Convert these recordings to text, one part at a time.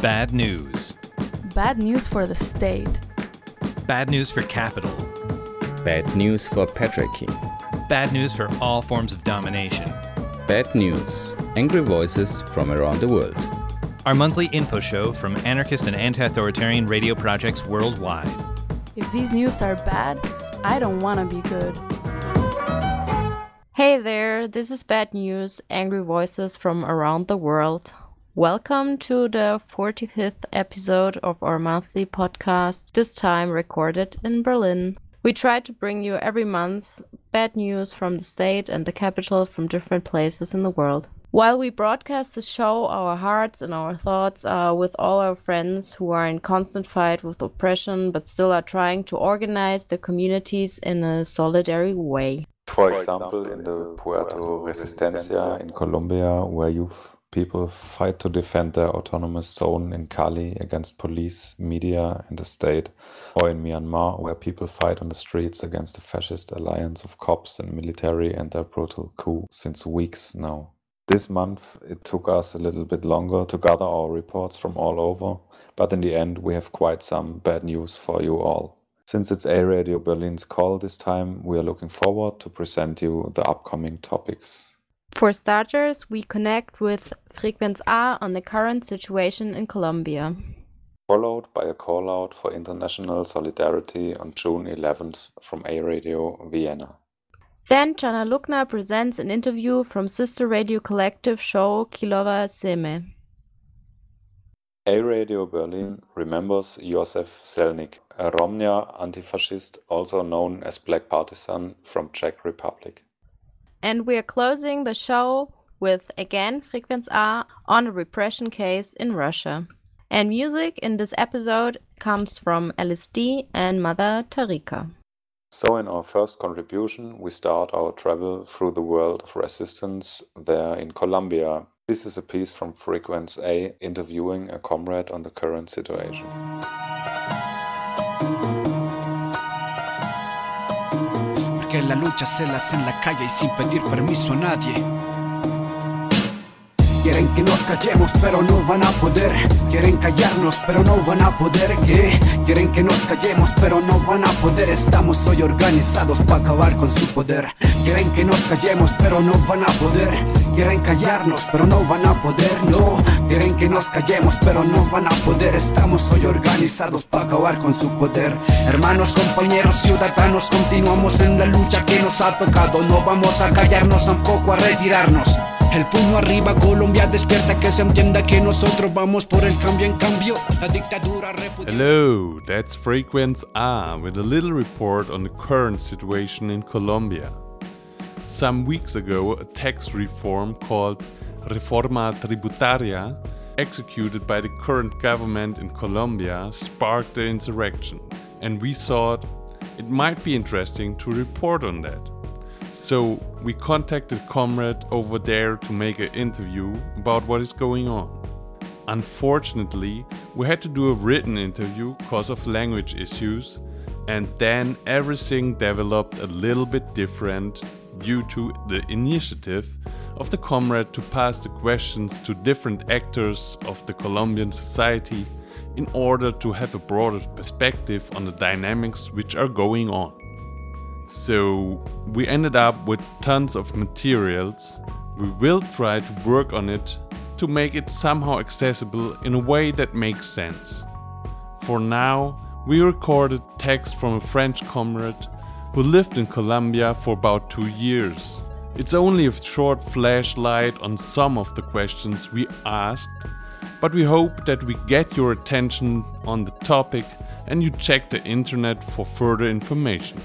Bad news. Bad news for the state. Bad news for capital. Bad news for patriarchy. Bad news for all forms of domination. Bad news. Angry voices from around the world. Our monthly info show from anarchist and anti-authoritarian radio projects worldwide. If these news are bad, I don't want to be good. Hey there, this is Bad News, Angry Voices from around the world. Welcome to the 45th episode of our monthly podcast, this time recorded in Berlin. We try to bring you every month bad news from the state and the capital from different places in the world. While we broadcast the show, our hearts and our thoughts are with all our friends who are in constant fight with oppression but still are trying to organize their communities in a solidary way. For example, in the Puerto Resistencia in Colombia, where youth people fight to defend their autonomous zone in Cali against police, media, and the state, or in Myanmar, where people fight on the streets against the fascist alliance of cops and military and their brutal coup since weeks now. This month, it took us a little bit longer to gather our reports from all over, but in the end, we have quite some bad news for you all. Since it's A Radio Berlin's call this time, we are looking forward to present you the upcoming topics. For starters, we connect with Frequenz A on the current situation in Colombia. Followed by a call-out for international solidarity on June 11th from A Radio Vienna. Then Jana Lukna presents an interview from sister radio collective show Kilowa Seme. A Radio Berlin remembers Josef Selnik, a Romnia anti-fascist also known as Black Partisan from Czech Republic. And we are closing the show with, again, Frequenz A on a repression case in Russia. And music in this episode comes from LSD and Mother Tarika. So in our first contribution, we start our travel through the world of resistance there in Colombia. This is a piece from Frequenz A interviewing a comrade on the current situation. Que la lucha se la hace en la calle y sin pedir permiso a nadie. Quieren que nos callemos pero no van a poder. Quieren callarnos pero no van a poder. ¿Qué? Quieren que nos callemos pero no van a poder. Estamos hoy organizados para acabar con su poder. Quieren que nos callemos pero no van a poder. Quieren callarnos pero no van a poder. No, quieren que nos callemos pero no van a poder. Estamos hoy organizados para acabar con su poder. Hermanos, compañeros, ciudadanos, continuamos en la lucha que nos ha tocado. No vamos a callarnos, tampoco a retirarnos. El puño arriba, Colombia despierta, que se entienda que nosotros vamos por el cambio. En cambio, la dictadura Hello, that's Frequenz A with a little report on the current situation in Colombia. Some weeks ago, a tax reform called Reforma Tributaria, executed by the current government in Colombia, sparked the insurrection, and we thought it might be interesting to report on that. So we contacted a comrade over there to make an interview about what is going on. Unfortunately, we had to do a written interview because of language issues, and then everything developed a little bit different due to the initiative of the comrade to pass the questions to different actors of the Colombian society in order to have a broader perspective on the dynamics which are going on. So we ended up with tons of materials. We will try to work on it to make it somehow accessible in a way that makes sense. For now, we recorded text from a French comrade who lived in Colombia for about 2 years. It's only a short flashlight on some of the questions we asked, but we hope that we get your attention on the topic and you check the internet for further information.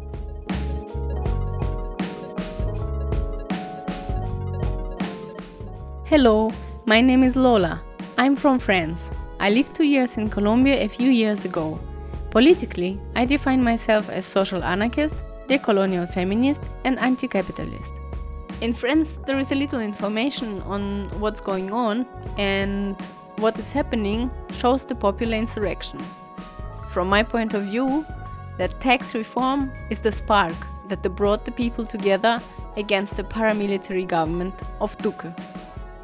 Hello, my name is Lola. I'm from France. I lived 2 years in Colombia a few years ago. Politically, I define myself as social anarchist, decolonial feminist, and anti-capitalist. In France, there is a little information on what's going on, and what is happening shows the popular insurrection. From my point of view, that tax reform is the spark that brought the people together against the paramilitary government of Duque.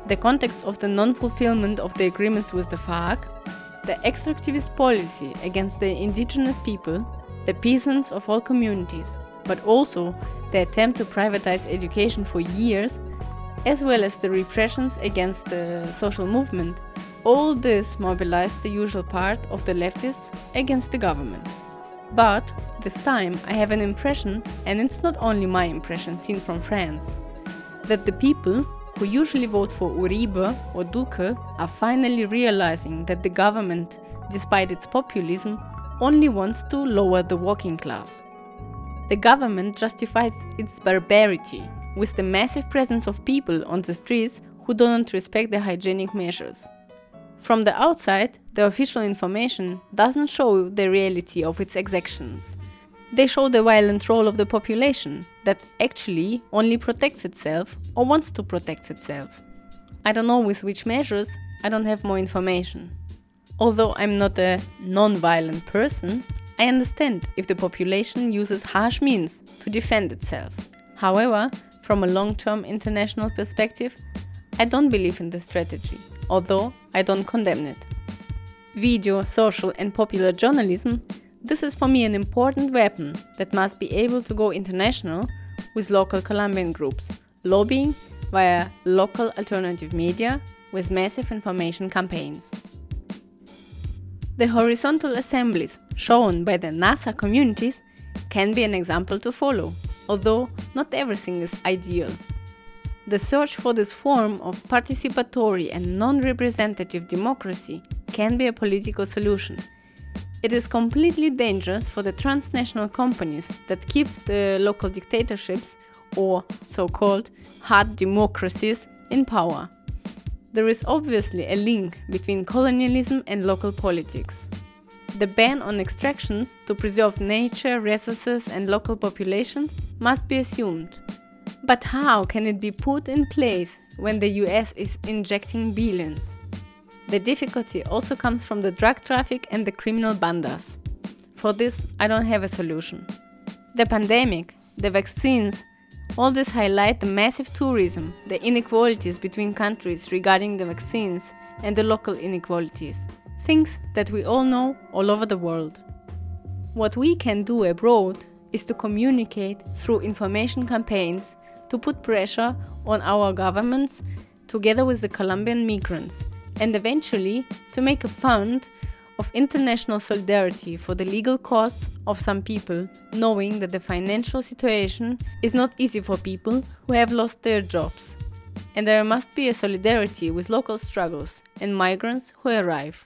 the context of the non-fulfillment of the agreements with the FARC, the extractivist policy against the indigenous people, the peasants of all communities, but also the attempt to privatize education for years, as well as the repressions against the social movement, all this mobilized the usual part of the leftists against the government. But this time I have an impression, and it's not only my impression seen from France, that the people who usually vote for Uribe or Duque are finally realizing that the government, despite its populism, only wants to lower the working class. The government justifies its barbarity with the massive presence of people on the streets who do not respect the hygienic measures. From the outside, the official information doesn't show the reality of its exactions. They show the violent role of the population that actually only protects itself or wants to protect itself. I don't know with which measures, I don't have more information. Although I'm not a non-violent person, I understand if the population uses harsh means to defend itself. However, from a long-term international perspective, I don't believe in this strategy, although I don't condemn it. Video, social and popular journalism, this is for me an important weapon that must be able to go international with local Colombian groups, lobbying via local alternative media with massive information campaigns. The horizontal assemblies shown by the NASA communities can be an example to follow, although not everything is ideal. The search for this form of participatory and non-representative democracy can be a political solution. It is completely dangerous for the transnational companies that keep the local dictatorships, or so-called hard democracies, in power. There is obviously a link between colonialism and local politics. The ban on extractions to preserve nature, resources and local populations must be assumed. But how can it be put in place when the US is injecting billions? The difficulty also comes from the drug traffic and the criminal bandas. For this, I don't have a solution. The pandemic, the vaccines, all this highlight the massive tourism, the inequalities between countries regarding the vaccines, and the local inequalities. Things that we all know all over the world. What we can do abroad is to communicate through information campaigns to put pressure on our governments together with the Colombian migrants, and eventually to make a fund of international solidarity for the legal costs of some people, knowing that the financial situation is not easy for people who have lost their jobs. And there must be a solidarity with local struggles and migrants who arrive.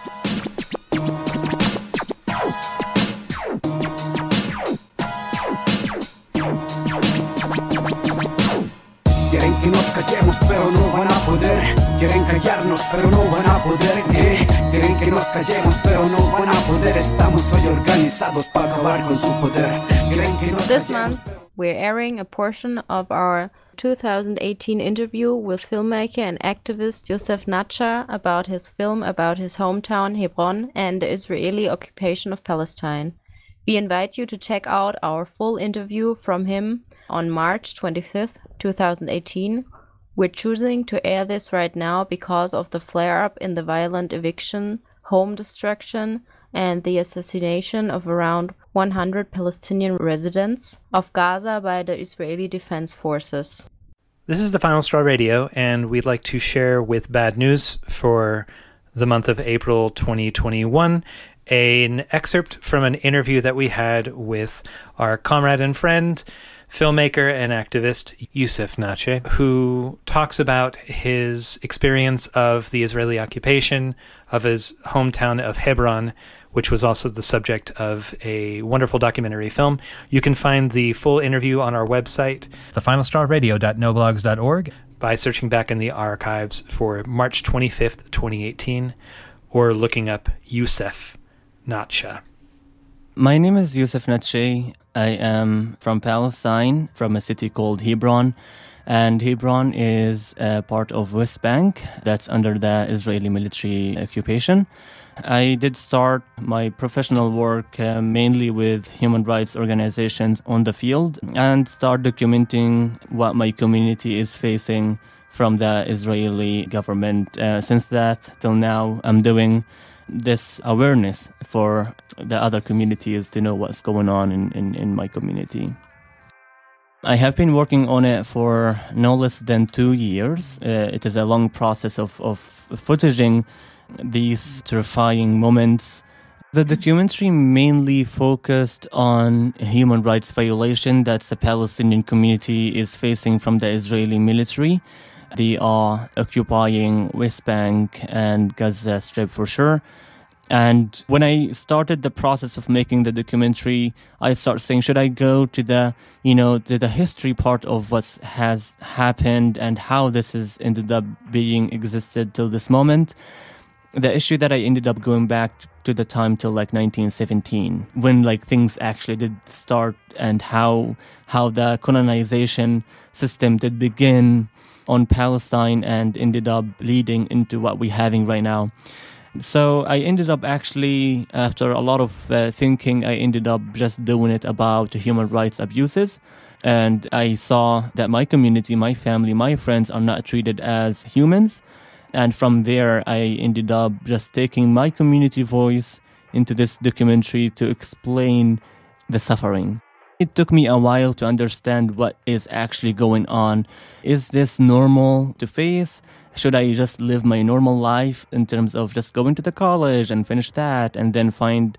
Quieren que nos callemos pero no van a poder. Quieren callarnos pero no van a poder. Quieren que nos callemos pero no van a poder. Estamos hoy organizados para acabar con su poder. This month we're airing a portion of our 2018 interview with filmmaker and activist Youssef Nacha about his film about his hometown Hebron and the Israeli occupation of Palestine. We invite you to check out our full interview from him on March 25th, 2018. We're choosing to air this right now because of the flare-up in the violent eviction, home destruction, and the assassination of around 100 Palestinian residents of Gaza by the Israeli Defense Forces. This is the Final Straw Radio, and we'd like to share with Bad News for the month of April 2021 an excerpt from an interview that we had with our comrade and friend, filmmaker and activist Youssef Nacha, who talks about his experience of the Israeli occupation of his hometown of Hebron, which was also the subject of a wonderful documentary film. You can find the full interview on our website, thefinalstrawradio.noblogs.org, by searching back in the archives for March 25th, 2018, or looking up Youssef Nacha. My name is Youssef Nacha. I am from Palestine, from a city called Hebron. And Hebron is a part of West Bank that's under the Israeli military occupation. I did start my professional work mainly with human rights organizations on the field and start documenting what my community is facing from the Israeli government. Since that till now, I'm doing this awareness for the other communities to know what's going on in my community. I have been working on it for no less than 2 years. It is a long process of footaging these terrifying moments. The documentary mainly focused on human rights violation that the Palestinian community is facing from the Israeli military. They are occupying West Bank and Gaza Strip for sure. And when I started the process of making the documentary, I started saying, should I go to the history part of what has happened and how this has ended up being existed till this moment? The issue that I ended up going back to the time till 1917, when things actually did start, and how the colonization system did begin on Palestine and ended up leading into what we're having right now. So I ended up actually, after a lot of thinking, I ended up just doing it about human rights abuses. And I saw that my community, my family, my friends are not treated as humans. And from there, I ended up just taking my community voice into this documentary to explain the suffering. It took me a while to understand what is actually going on. Is this normal to face? Should I just live my normal life in terms of just going to the college and finish that and then find,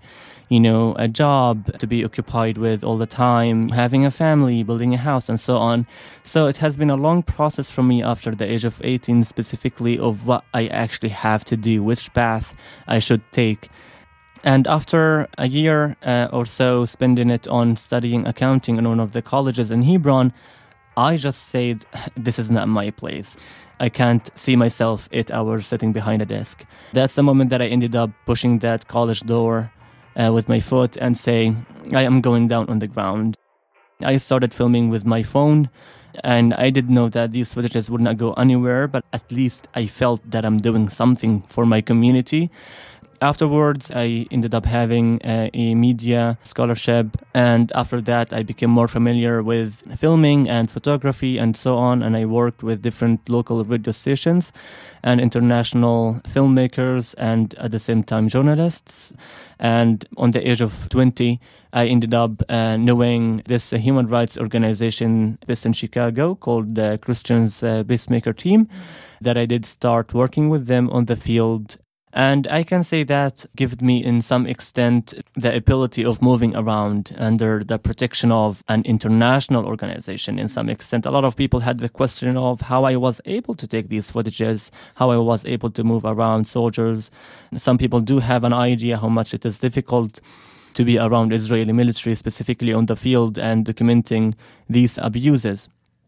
a job to be occupied with all the time, having a family, building a house, and so on. So it has been a long process for me after the age of 18 specifically of what I actually have to do, which path I should take. And after a year or so spending it on studying accounting in one of the colleges in Hebron, I just said, this is not my place. I can't see myself 8 hours sitting behind a desk. That's the moment that I ended up pushing that college door with my foot and saying, I am going down on the ground. I started filming with my phone, and I did know that these footages would not go anywhere, but at least I felt that I'm doing something for my community. Afterwards, I ended up having a media scholarship, and after that, I became more familiar with filming and photography and so on, and I worked with different local radio stations and international filmmakers and at the same time journalists. And on the age of 20, I ended up knowing this human rights organization based in Chicago called the Christians Peacemaker Team, that I did start working with them on the field. And I can say that gave me, in some extent, the ability of moving around under the protection of an international organization. In some extent, a lot of people had the question of how I was able to take these footages, how I was able to move around soldiers. Some people do have an idea how much it is difficult to be around Israeli military, specifically on the field, and documenting these abuses.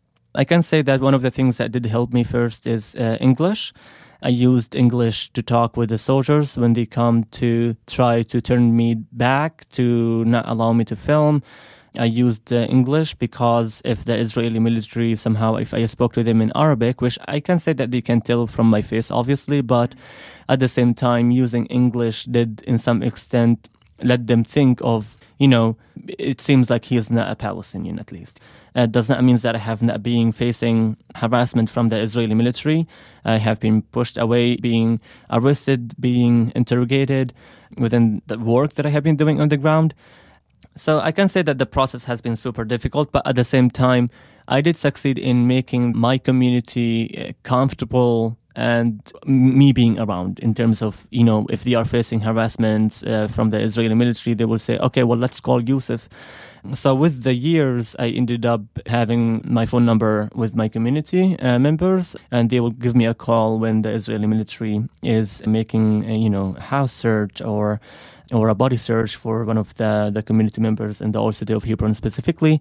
I can say that one of the things that did help me first is English. I used English to talk with the soldiers when they come to try to turn me back, to not allow me to film. I used English because if the Israeli military somehow, if I spoke to them in Arabic, which I can say that they can tell from my face, obviously, but at the same time, using English did, in some extent, let them think of, it seems like he is not a Palestinian, at least. It does not mean that I have not been facing harassment from the Israeli military. I have been pushed away, being arrested, being interrogated within the work that I have been doing on the ground. So I can say that the process has been super difficult, but at the same time, I did succeed in making my community comfortable and me being around, in terms of, if they are facing harassment from the Israeli military, they will say, okay, well, let's call Yusuf. So with the years, I ended up having my phone number with my community members, and they will give me a call when the Israeli military is making a house search or a body search for one of the community members in the old city of Hebron specifically.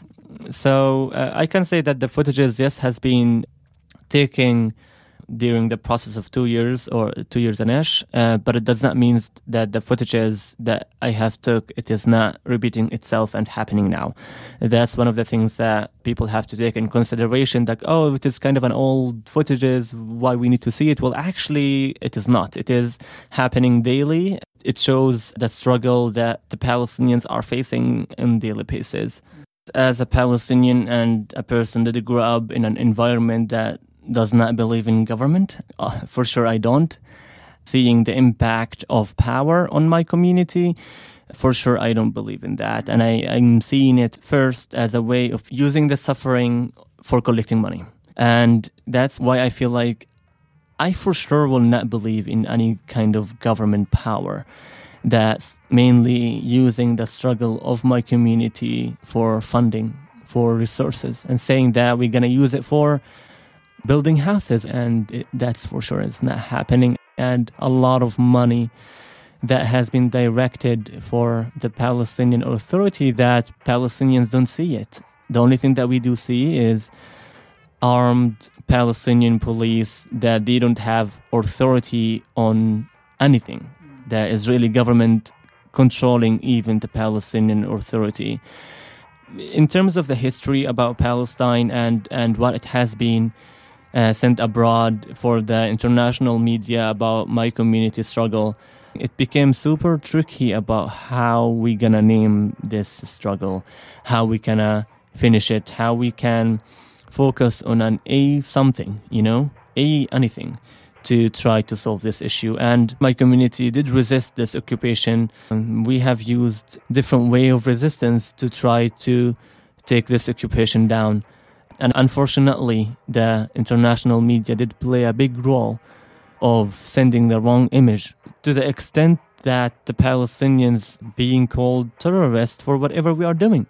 So I can say that the footages, yes, has been taking during the process of 2 years or 2 years and ish, but it does not mean that the footages that I have took, it is not repeating itself and happening now. That's one of the things that people have to take in consideration, that, it is kind of an old footages, why we need to see it? Well, actually, it is not. It is happening daily. It shows the struggle that the Palestinians are facing on daily basis. As a Palestinian and a person that grew up in an environment that does not believe in government. For sure, I don't. Seeing the impact of power on my community, for sure, I don't believe in that. And I'm seeing it first as a way of using the suffering for collecting money. And that's why I feel like I for sure will not believe in any kind of government power that's mainly using the struggle of my community for funding, for resources, and saying that we're going to use it for building houses. And that's for sure is not happening. And a lot of money that has been directed for the Palestinian Authority that Palestinians don't see it. The only thing that we do see is armed Palestinian police that they don't have authority on anything. The Israeli government controlling even the Palestinian Authority. In terms of the history about Palestine and what it has been sent abroad for the international media about my community struggle, it became super tricky about how we gonna name this struggle, how we gonna finish it, how we can focus on an something, anything to try to solve this issue. And my community did resist this occupation. We have used different way of resistance to try to take this occupation down. And unfortunately, the international media did play a big role of sending the wrong image to the extent that the Palestinians being called terrorists for whatever we are doing.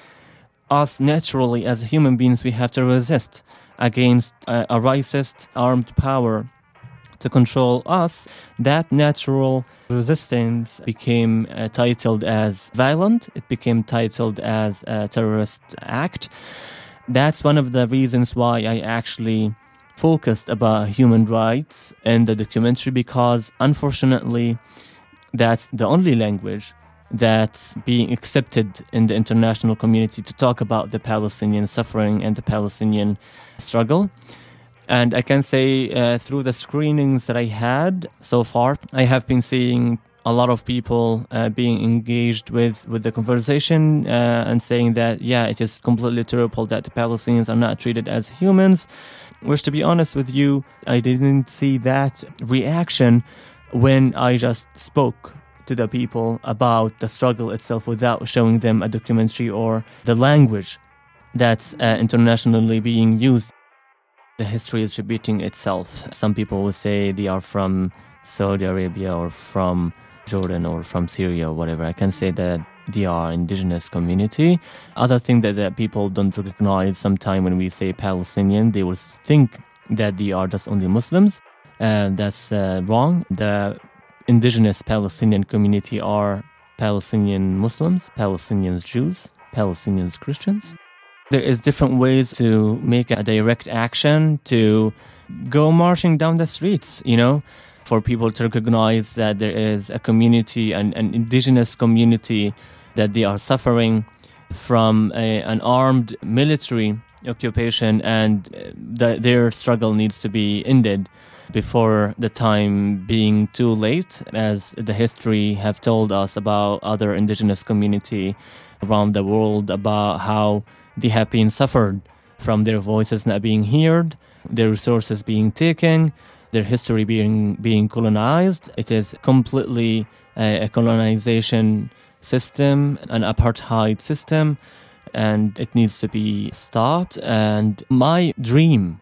Us, naturally, as human beings, we have to resist against a racist armed power to control us. That natural resistance became titled as violent. It became titled as a terrorist act. That's one of the reasons why I actually focused about human rights in the documentary, because unfortunately that's the only language that's being accepted in the international community to talk about the Palestinian suffering and the Palestinian struggle. And I can say through the screenings that I had so far, I have been seeing a lot of people being engaged with the conversation and saying that, yeah, it is completely terrible that the Palestinians are not treated as humans. Which, to be honest with you, I didn't see that reaction when I just spoke to the people about the struggle itself without showing them a documentary or the language that's internationally being used. The history is repeating itself. Some people will say they are from Saudi Arabia or from Jordan or from Syria or whatever. I can say that they are indigenous community. Other thing that people don't recognize sometimes when we say Palestinian, they will think that they are just only Muslims. That's wrong. The indigenous Palestinian community are Palestinian Muslims, Palestinian Jews, Palestinian Christians. There is different ways to make a direct action, to go marching down the streets, for people to recognize that there is a community, an indigenous community, that they are suffering from an armed military occupation, and their struggle needs to be ended before the time being too late, as the history have told us about other indigenous community around the world, about how they have been suffered from their voices not being heard, their resources being taken, their history being colonized. It is completely a colonization system, an apartheid system, and it needs to be stopped. And my dream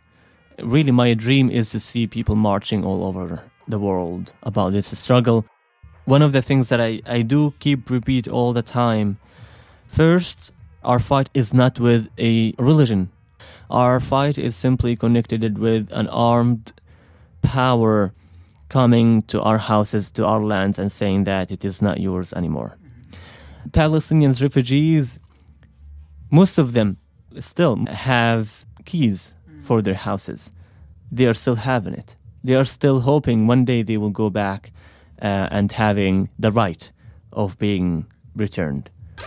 is to see people marching all over the world about this struggle. One of the things that I do keep repeat all the time, first, our fight is not with a religion. Our fight is simply connected with an armed power coming to our houses, to our lands, and saying that it is not yours anymore. Palestinians, refugees, most of them still have keys for their houses. They are still having it. They are still hoping one day they will go back and having the right of being returned.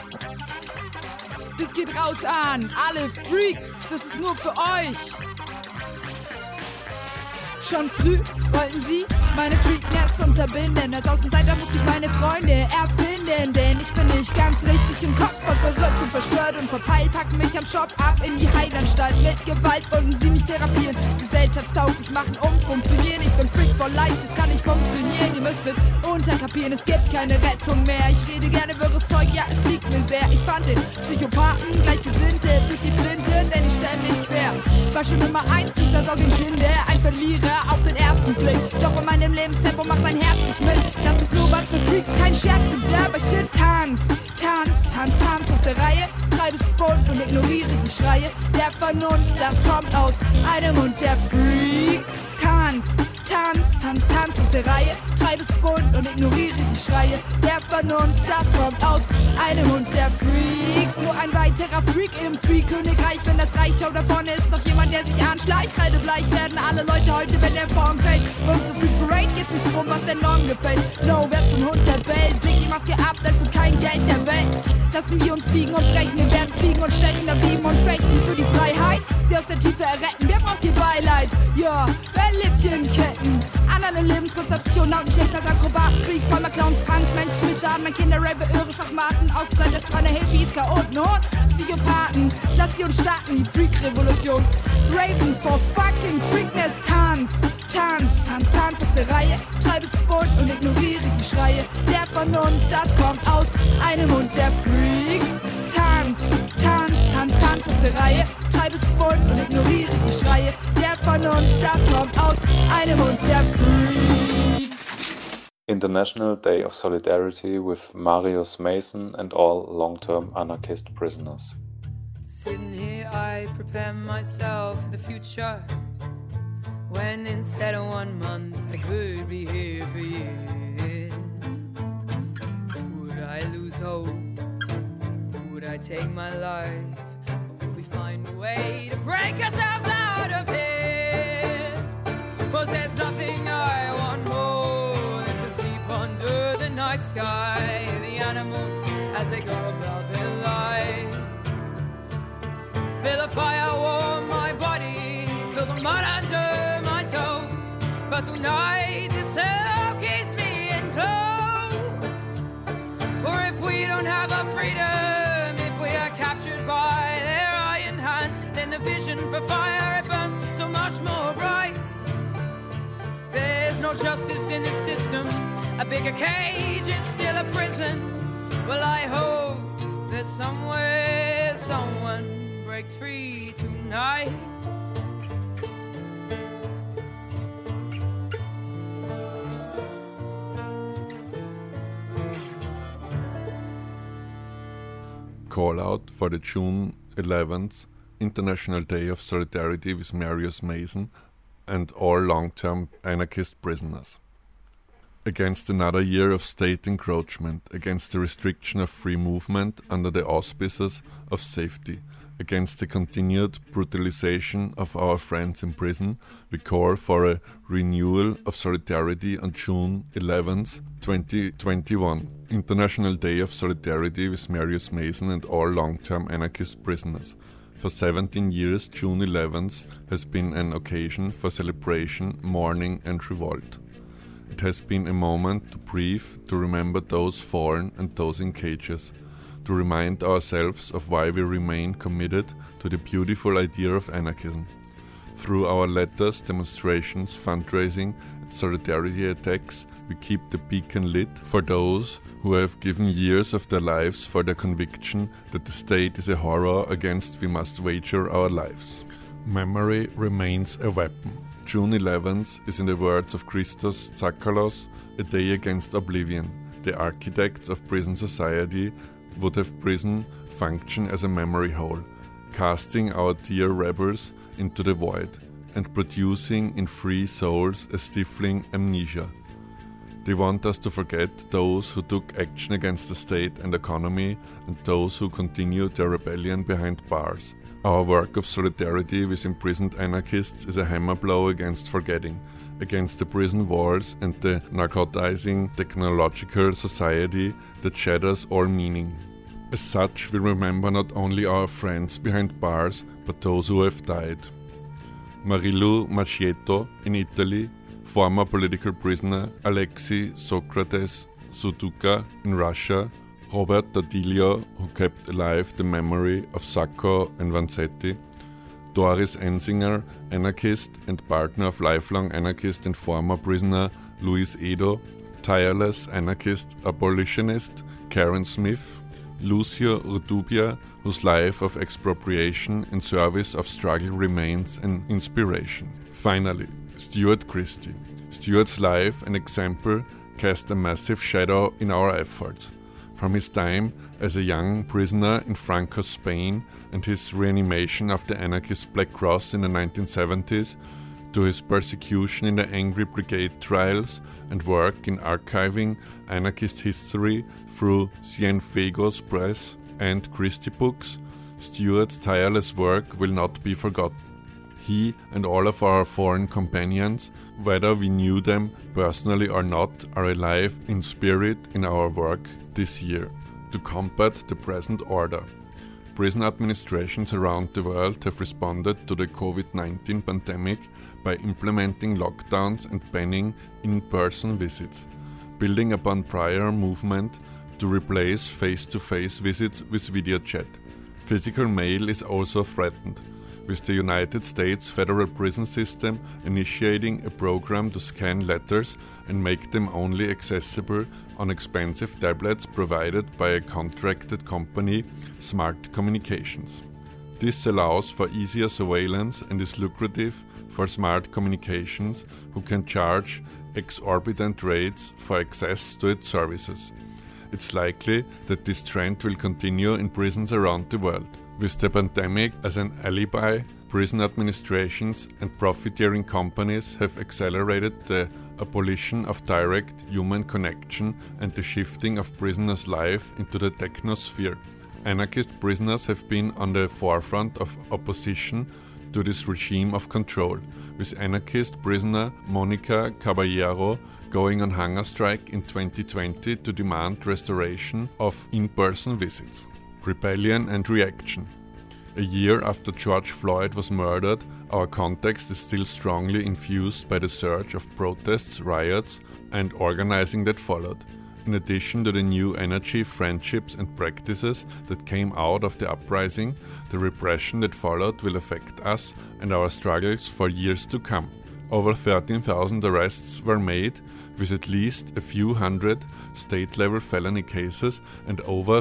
Das geht raus an alle Freaks, das ist nur für euch. Schon früh wollten sie meine Freakness unterbinden. Als Außenseiter musste ich meine Freunde erfinden. Denn ich bin nicht ganz richtig im Kopf, voll verrückt und verstört und verpeilt. Packen mich am Shop ab in die Heilanstalt. Mit Gewalt wollten sie mich therapieren. Gesellschaftstauglich machen, funktionieren. Ich bin Freak for life, das kann nicht funktionieren. Ihr müsst mit unterkapieren, es gibt keine Rettung mehr. Ich rede gerne wirres Zeug, ja, es liegt mir sehr. Ich fand den Psychopathen Gleichgesinnte, zieht die Flinte, denn ich stell mich quer. War schon Nummer 1 dieser Sorgenkinder, ein Verlierer auf den ersten Blick. Doch bei meinem Lebenstempo macht mein Herz nicht mit. Das ist nur was für Freaks, kein Scherz. Aber shit, tanz aus der Reihe. Treibe es bunt und ignoriere die Schreie der Vernunft, das kommt aus einem Mund der Freaks. Tanz aus der Reihe. Treibe es bunt und ignoriere die Schreie der Vernunft, das kommt aus einem Mund der Freaks. Nur ein weiterer Freak im Freak-Königreich. Wenn das reicht, schau, da vorne ist noch jemand, der sich anschleicht. Kreidebleich werden alle Leute heute, wenn der Form fällt. Für unsere Freak-Parade geht's nicht drum, was der Norm gefällt. No, wer zum Hund der bellt, leg die Maske ab, denn für kein Geld der Welt lassen wir uns biegen und brechen. Wir werden fliegen und stechen, erbieben und fechten für die Freiheit. Sie aus der Tiefe erretten, wer braucht ihr Beileid? Ja, wer lebt hier in Ketten? An alle Lebenskunst, Psychonauten, Schächter, Akrobaten, Freaks, Vollmer, Clowns, Punks, Menschen mit Schaden, mein Kinder, Raver, Irre, Schachmaten, Außenseiter, Strahler, Hippies, Chaoten und Psychopathen. Lass sie uns starten, die Freak-Revolution. Raven for fucking Freakness, tanz aus der Reihe. Treibe es bunt und ignoriere die Schreie der Vernunft, das kommt aus einem Mund der Freaks. Tanz aus der Reihe. Treibe es bunt und ignoriere die Schreie der Vernunft, das kommt aus einem Mund der Freaks. International Day of Solidarity with Marius Mason and all long-term anarchist prisoners. Sitting here, I prepare myself for the future. When instead of 1 month, I could be here for years. Would I lose hope? Would I take my life? Or would we find a way to break ourselves out of here? 'Cause there's nothing I want more than to sleep under the night sky. The animals as they go about their lives. Feel the fire warm my body, feel the mud under my toes. But tonight the cell keeps me enclosed. For if we don't have our freedom, if we are captured by their iron hands, then the vision for fire, it burns so much more bright. There's no justice in the system, a bigger cage is still a prison. Well, I hope that somewhere someone breaks free tonight. Call out for the June 11th International Day of Solidarity with Marius Mason and all long-term anarchist prisoners. Against another year of state encroachment, against the restriction of free movement under the auspices of safety, against the continued brutalization of our friends in prison, we call for a renewal of solidarity on June 11th, 2021, International Day of Solidarity with Marius Mason and all long-term anarchist prisoners. For 17 years, June 11th has been an occasion for celebration, mourning and revolt. It has been a moment to breathe, to remember those fallen and those in cages, to remind ourselves of why we remain committed to the beautiful idea of anarchism. Through our letters, demonstrations, fundraising and solidarity attacks, we keep the beacon lit for those who have given years of their lives for their conviction that the state is a horror against we must wager our lives. Memory remains a weapon. June 11th is, in the words of Christos Tsakalos, a day against oblivion. The architects of prison society would have prison function as a memory hole, casting our dear rebels into the void and producing in free souls a stifling amnesia. They want us to forget those who took action against the state and economy and those who continue their rebellion behind bars. Our work of solidarity with imprisoned anarchists is a hammer blow against forgetting, against the prison walls and the narcotizing technological society that shatters all meaning. As such, we remember not only our friends behind bars, but those who have died. Marilu Macchietto in Italy, former political prisoner Alexei Socrates Suduka in Russia, Robert D'Adilio, who kept alive the memory of Sacco and Vanzetti, Doris Ensinger, anarchist and partner of lifelong anarchist and former prisoner Luis Edo, tireless anarchist abolitionist Karen Smith, Lucio Rutubia, whose life of expropriation in service of struggle remains an inspiration. Finally, Stuart Christie. Stuart's life and example cast a massive shadow in our efforts. From his time as a young prisoner in Franco, Spain, and his reanimation of the anarchist Black Cross in the 1970s, to his persecution in the Angry Brigade trials and work in archiving anarchist history through Cienfuegos Press and Christie Books, Stuart's tireless work will not be forgotten. He and all of our foreign companions, whether we knew them personally or not, are alive in spirit in our work this year to combat the present order. Prison administrations around the world have responded to the COVID-19 pandemic by implementing lockdowns and banning in-person visits, building upon prior movement to replace face-to-face visits with video chat. Physical mail is also threatened, with the United States federal prison system initiating a program to scan letters and make them only accessible on expensive tablets provided by a contracted company, Smart Communications. This allows for easier surveillance and is lucrative for Smart Communications, who can charge exorbitant rates for access to its services. It's likely that this trend will continue in prisons around the world. With the pandemic as an alibi, prison administrations and profiteering companies have accelerated the abolition of direct human connection and the shifting of prisoners' life into the technosphere. Anarchist prisoners have been on the forefront of opposition to this regime of control, with anarchist prisoner Monica Caballero going on hunger strike in 2020 to demand restoration of in-person visits. Rebellion and reaction. A year after George Floyd was murdered, our context is still strongly infused by the surge of protests, riots, and organizing that followed. In addition to the new energy, friendships, and practices that came out of the uprising, the repression that followed will affect us and our struggles for years to come. Over 13,000 arrests were made, with at least a few hundred state-level felony cases and over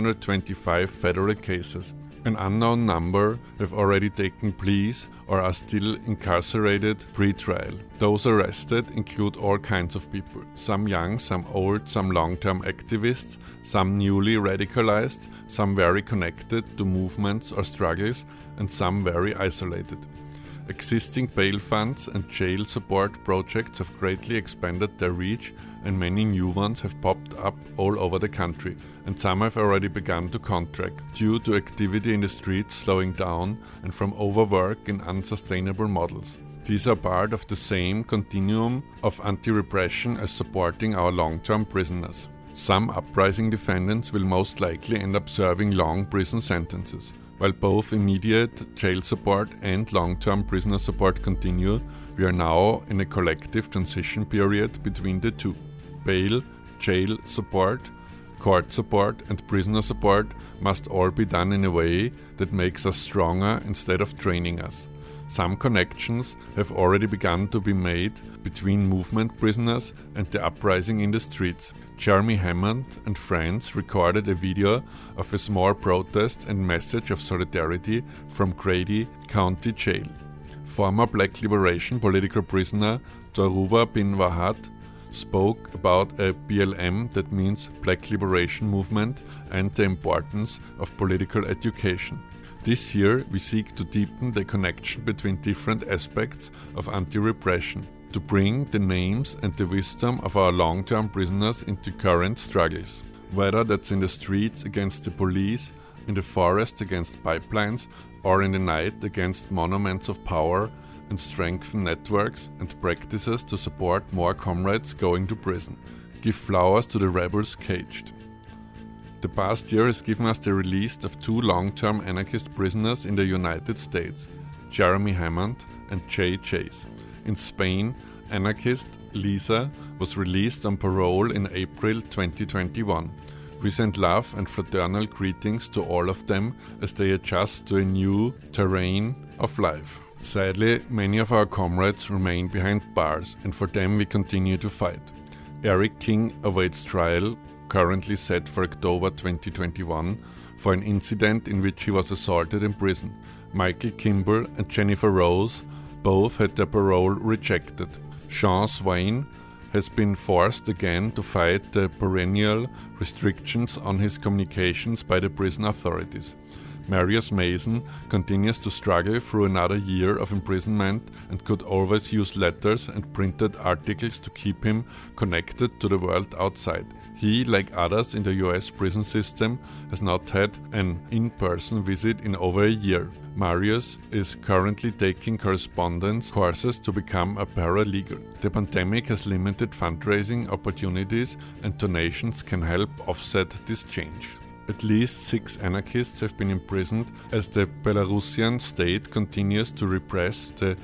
325 federal cases. An unknown number have already taken pleas or are still incarcerated pre-trial. Those arrested include all kinds of people, some young, some old, some long-term activists, some newly radicalized, some very connected to movements or struggles, and some very isolated. Existing bail funds and jail support projects have greatly expanded their reach, and many new ones have popped up all over the country, and some have already begun to contract due to activity in the streets slowing down and from overwork in unsustainable models. These are part of the same continuum of anti-repression as supporting our long-term prisoners. Some uprising defendants will most likely end up serving long prison sentences. While both immediate jail support and long-term prisoner support continue, we are now in a collective transition period between the two. Bail, jail support, court support, and prisoner support must all be done in a way that makes us stronger instead of draining us. Some connections have already begun to be made between movement prisoners and the uprising in the streets. Jeremy Hammond and friends recorded a video of a small protest and message of solidarity from Grady County Jail. Former Black Liberation political prisoner Dhoruba bin Wahad spoke about a BLM, that means Black Liberation Movement, and the importance of political education. This year, we seek to deepen the connection between different aspects of anti-repression, to bring the names and the wisdom of our long-term prisoners into current struggles. Whether that's in the streets against the police, in the forest against pipelines, or in the night against monuments of power, and strengthen networks and practices to support more comrades going to prison. Give flowers to the rebels caged. The past year has given us the release of 2 long-term anarchist prisoners in the United States, Jeremy Hammond and Jay Chase. In Spain, anarchist Lisa was released on parole in April 2021. We send love and fraternal greetings to all of them as they adjust to a new terrain of life. Sadly, many of our comrades remain behind bars, and for them we continue to fight. Eric King awaits trial, currently set for October 2021, for an incident in which he was assaulted in prison. Michael Kimball and Jennifer Rose both had their parole rejected. Sean Swain has been forced again to fight the perennial restrictions on his communications by the prison authorities. Marius Mason continues to struggle through another year of imprisonment and could always use letters and printed articles to keep him connected to the world outside. He, like others in the US prison system, has not had an in-person visit in over a year. Marius is currently taking correspondence courses to become a paralegal. The pandemic has limited fundraising opportunities, and donations can help offset this change. At least 6 anarchists have been imprisoned as the Belarusian state continues to repress the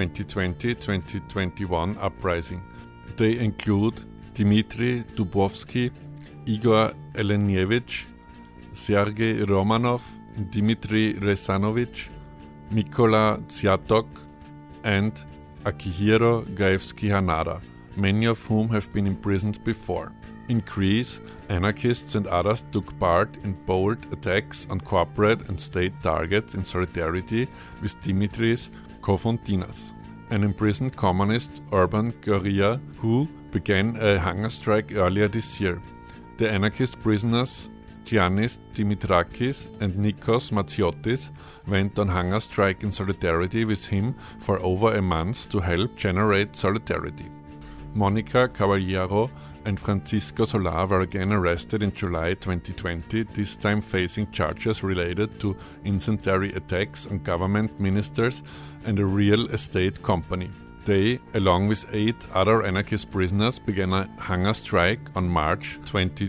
2020-2021 uprising. They include Dmitry Dubovsky, Igor Elenievich, Sergei Romanov, Dmitry Rezanovich, Mykola Tsiatok, and Akihiro Gaevsky-Hanada, many of whom have been imprisoned before. In Greece, anarchists and others took part in bold attacks on corporate and state targets in solidarity with Dimitris Kofontinas, an imprisoned communist urban guerrilla who began a hunger strike earlier this year. The anarchist prisoners Giannis Dimitrakis and Nikos Matsiotis went on hunger strike in solidarity with him for over a month to help generate solidarity. Monica Caballero and Francisco Solar were again arrested in July 2020, this time facing charges related to incendiary attacks on government ministers and a real estate company. They, along with 8 other anarchist prisoners, began a hunger strike on March 22,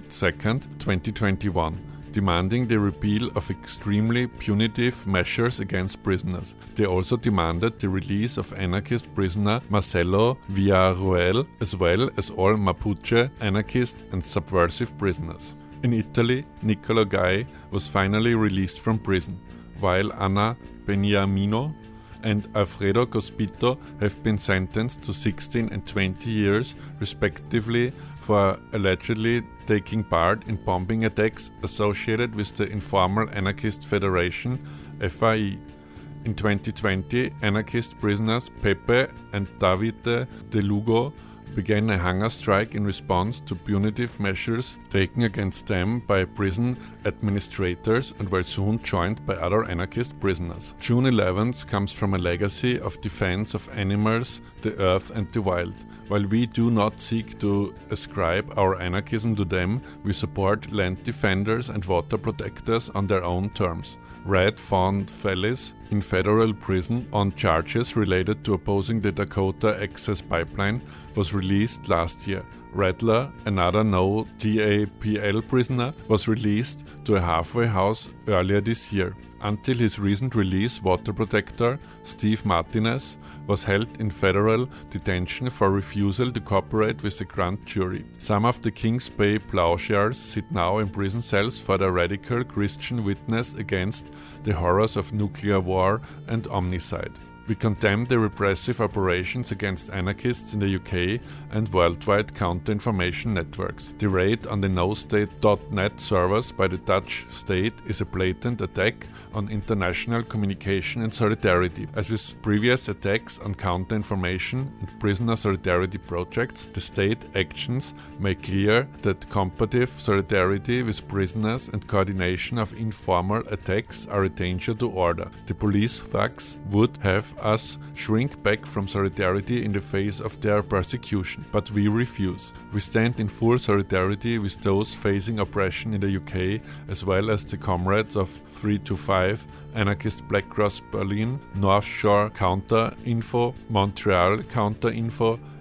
2021, demanding the repeal of extremely punitive measures against prisoners. They also demanded the release of anarchist prisoner Marcelo Villarroel, as well as all Mapuche anarchist and subversive prisoners. In Italy, Niccolo Gai was finally released from prison, while Anna Beniamino and Alfredo Cospito have been sentenced to 16 and 20 years, respectively, for allegedly taking part in bombing attacks associated with the informal anarchist federation, FAI. In 2020, anarchist prisoners Pepe and Davide De Lugo began a hunger strike in response to punitive measures taken against them by prison administrators and were soon joined by other anarchist prisoners. June 11th comes from a legacy of defense of animals, the earth and the wild. While we do not seek to ascribe our anarchism to them, we support land defenders and water protectors on their own terms. Red found Fellis in federal prison on charges related to opposing the Dakota Access Pipeline was released last year. Rattler, another no TAPL prisoner, was released to a halfway house earlier this year. Until his recent release, water protector Steve Martinez was held in federal detention for refusal to cooperate with the grand jury. Some of the Kings Bay plowshares sit now in prison cells for their radical Christian witness against the horrors of nuclear war and omnicide. We condemn the repressive operations against anarchists in the UK and worldwide counter-information networks. The raid on the NoState.net servers by the Dutch state is a blatant attack on international communication and solidarity. As with previous attacks on counter-information and prisoner solidarity projects, the state actions make clear that combative solidarity with prisoners and coordination of informal attacks are a danger to order. The police thugs would have us shrink back from solidarity in the face of their persecution, but we refuse. We stand in full solidarity with those facing oppression in the UK, as well as the comrades of 325, Anarchist Black Cross Berlin, North Shore Counter Info, Montreal Counter Info,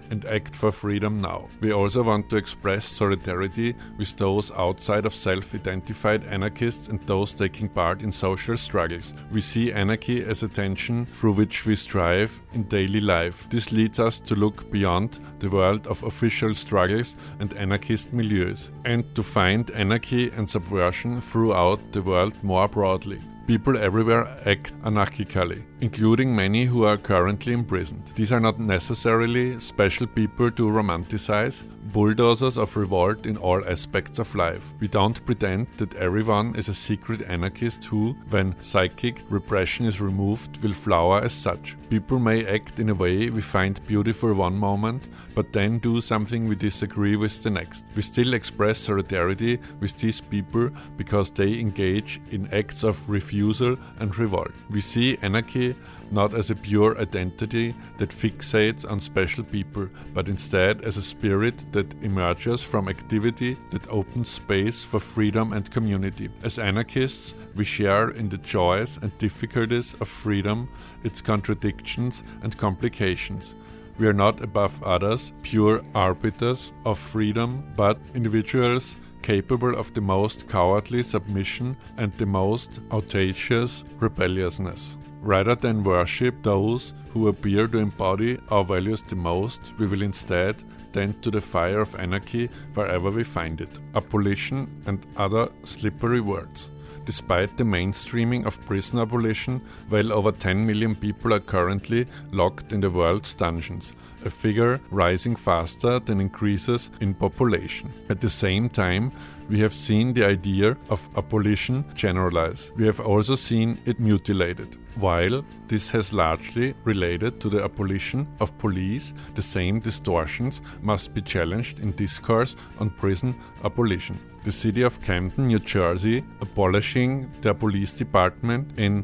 and act for freedom now. We also want to express solidarity with those outside of self-identified anarchists and those taking part in social struggles. We see anarchy as a tension through which we strive in daily life. This leads us to look beyond the world of official struggles and anarchist milieus, and to find anarchy and subversion throughout the world more broadly. People everywhere act anarchically, including many who are currently imprisoned. These are not necessarily special people to romanticize, bulldozers of revolt in all aspects of life. We don't pretend that everyone is a secret anarchist who, when psychic repression is removed, will flower as such. People may act in a way we find beautiful one moment, but then do something we disagree with the next. We still express solidarity with these people because they engage in acts of refusal and revolt. We see anarchy not as a pure identity that fixates on special people, but instead as a spirit that emerges from activity that opens space for freedom and community. As anarchists, we share in the joys and difficulties of freedom, its contradictions and complications. We are not above others, pure arbiters of freedom, but individuals capable of the most cowardly submission and the most audacious rebelliousness. Rather than worship those who appear to embody our values the most, we will instead tend to the fire of anarchy wherever we find it. Abolition and other slippery words. Despite the mainstreaming of prison abolition, well over 10 million people are currently locked in the world's dungeons, a figure rising faster than increases in population. At the same time, we have seen the idea of abolition generalize. We have also seen it mutilated. While this has largely related to the abolition of police, the same distortions must be challenged in discourse on prison abolition. The city of Camden, New Jersey, abolishing their police department in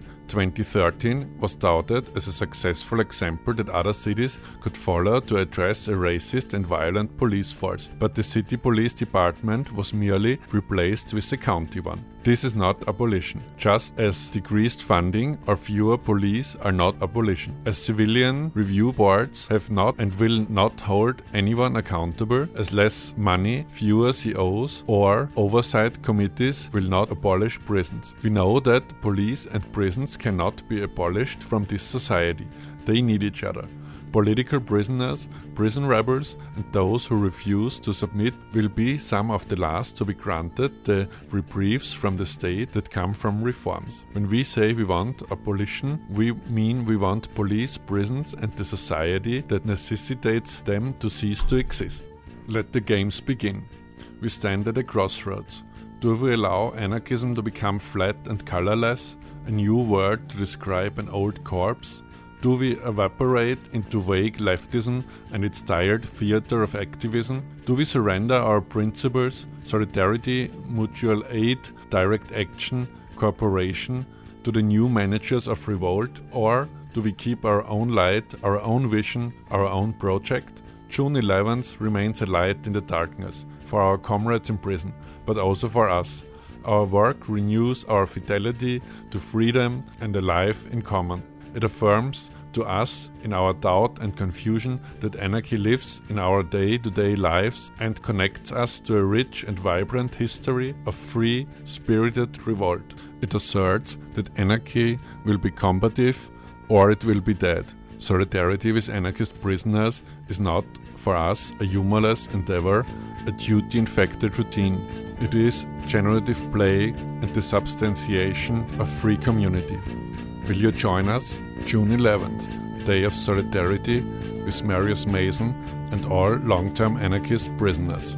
2013 was touted as a successful example that other cities could follow to address a racist and violent police force, but the city police department was merely replaced with a county one. This is not abolition, just as decreased funding or fewer police are not abolition. As civilian review boards have not and will not hold anyone accountable, as less money, fewer COs or oversight committees will not abolish prisons. We know that police and prisons cannot be abolished from this society. They need each other. Political prisoners, prison rebels, and those who refuse to submit will be some of the last to be granted the reprieves from the state that come from reforms. When we say we want abolition, we mean we want police, prisons, and the society that necessitates them to cease to exist. Let the games begin. We stand at a crossroads. Do we allow anarchism to become flat and colorless, a new word to describe an old corpse? Do we evaporate into vague leftism and its tired theater of activism? Do we surrender our principles, solidarity, mutual aid, direct action, cooperation, to the new managers of revolt? Or do we keep our own light, our own vision, our own project? June 11th remains a light in the darkness for our comrades in prison, but also for us. Our work renews our fidelity to freedom and a life in common. It affirms to us in our doubt and confusion that anarchy lives in our day-to-day lives and connects us to a rich and vibrant history of free, spirited revolt. It asserts that anarchy will be combative or it will be dead. Solidarity with anarchist prisoners is not, for us, a humorless endeavor, a duty-infected routine. It is generative play and the substantiation of free community. Will you join us? June 11th, Day of Solidarity with Marius Mason and all long-term anarchist prisoners.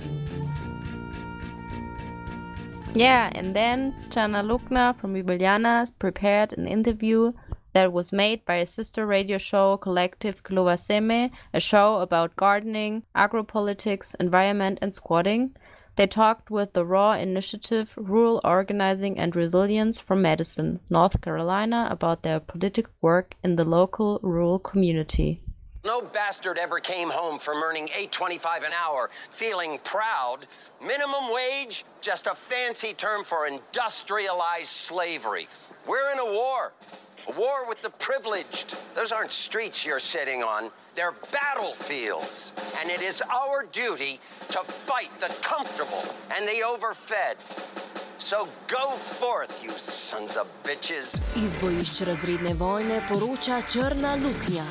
Yeah, and then Jana Lukna from Ljubljana prepared an interview that was made by a sister radio show, Collective Klova Seme, a show about gardening, agropolitics, environment and squatting. They talked with the Raw Initiative, Rural Organizing and Resilience from Madison, North Carolina, about their political work in the local rural community. No bastard ever came home from earning $8.25 an hour feeling proud. Minimum wage, just a fancy term for industrialized slavery. We're in a war. A war with the privileged. Those aren't streets you're sitting on. They're battlefields. And it is our duty to fight the comfortable and the overfed. So go forth, you sons of bitches. Iz bojišč razredne vojne poroča Črna luknja.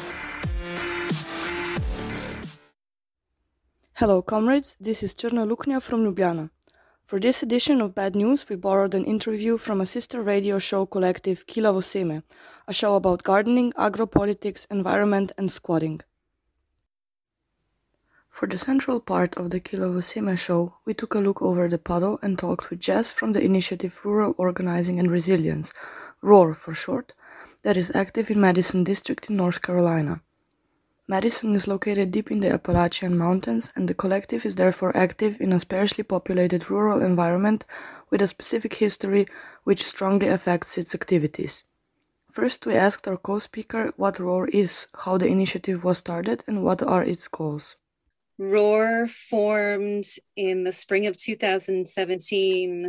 Hello, comrades. This is Črna luknja from Ljubljana. For this edition of Bad News, we borrowed an interview from a sister radio show collective Kilavo Seme, a show about gardening, agropolitics, environment, and squatting. For the central part of the Kilavo Seme show, we took a look over the puddle and talked with Jess from the initiative Rural Organizing and Resilience, ROAR for short, that is active in Madison District in North Carolina. Madison is located deep in the Appalachian Mountains, and the collective is therefore active in a sparsely populated rural environment with a specific history which strongly affects its activities. First, we asked our co-speaker what ROAR is, how the initiative was started, and what are its goals. ROAR formed in the spring of 2017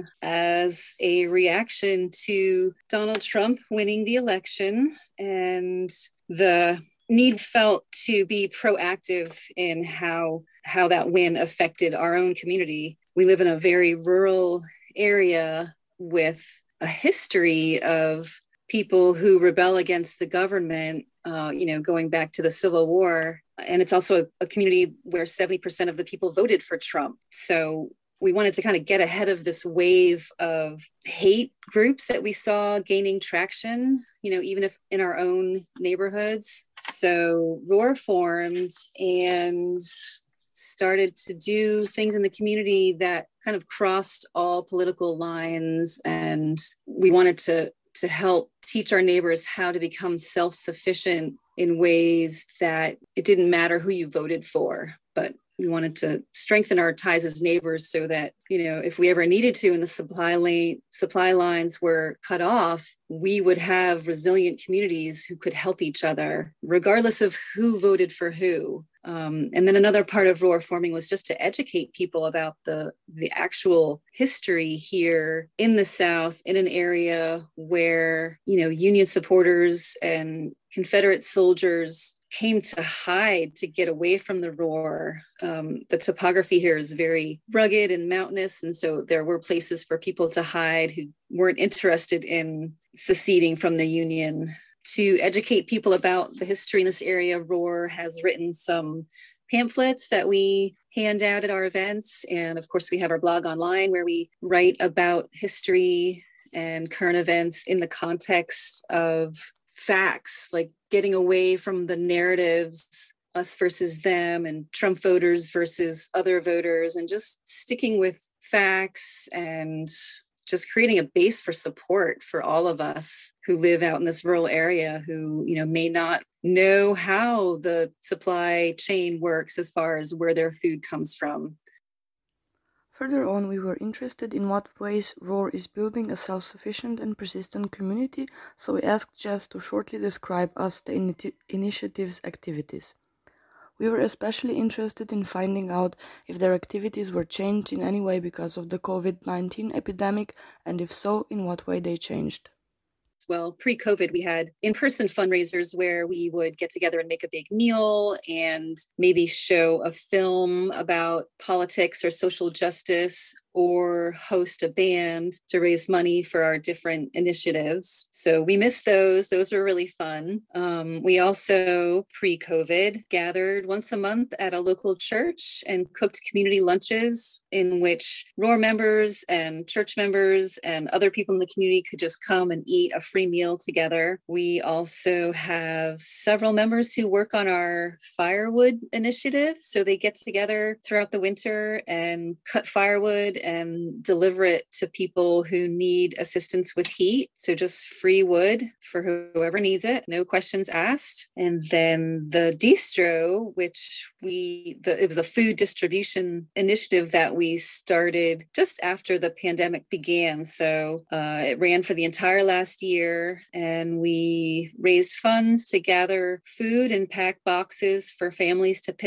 as a reaction to Donald Trump winning the election and the need felt to be proactive in how that win affected our own community. We live in a very rural area with a history of people who rebel against the government, going back to the Civil War. And it's also a community where 70% of the people voted for Trump. So we wanted to kind of get ahead of this wave of hate groups that we saw gaining traction, even if in our own neighborhoods. So ROAR formed and started to do things in the community that kind of crossed all political lines. And we wanted to help teach our neighbors how to become self-sufficient in ways that it didn't matter who you voted for, but we wanted to strengthen our ties as neighbors so that, if we ever needed to and the supply lines were cut off, we would have resilient communities who could help each other, regardless of who voted for who. And then another part of ROAR forming was just to educate people about the actual history here in the South, in an area where, Union supporters and Confederate soldiers came to hide to get away from the roar. The topography here is very rugged and mountainous, and so there were places for people to hide who weren't interested in seceding from the Union. To educate people about the history in this area, ROAR has written some pamphlets that we hand out at our events. And of course, we have our blog online where we write about history and current events in the context of facts, like getting away from the narratives, us versus them, and Trump voters versus other voters, and just sticking with facts and just creating a base for support for all of us who live out in this rural area who, may not know how the supply chain works as far as where their food comes from. Further on, we were interested in what ways ROAR is building a self-sufficient and persistent community, so we asked Jess to shortly describe us the initiative's activities. We were especially interested in finding out if their activities were changed in any way because of the COVID-19 epidemic, and if so, in what way they changed. Well, pre-COVID, we had in-person fundraisers where we would get together and make a big meal and maybe show a film about politics or social justice, or host a band to raise money for our different initiatives. So we missed those. Those were really fun. We also, pre-COVID, gathered once a month at a local church and cooked community lunches in which ROAR members and church members and other people in the community could just come and eat a free meal together. We also have several members who work on our firewood initiative. So they get together throughout the winter and cut firewood and deliver it to people who need assistance with heat. So just free wood for whoever needs it, no questions asked. And then the distro, which it was a food distribution initiative that we started just after the pandemic began. So it ran for the entire last year, and we raised funds to gather food and pack boxes for families to pick up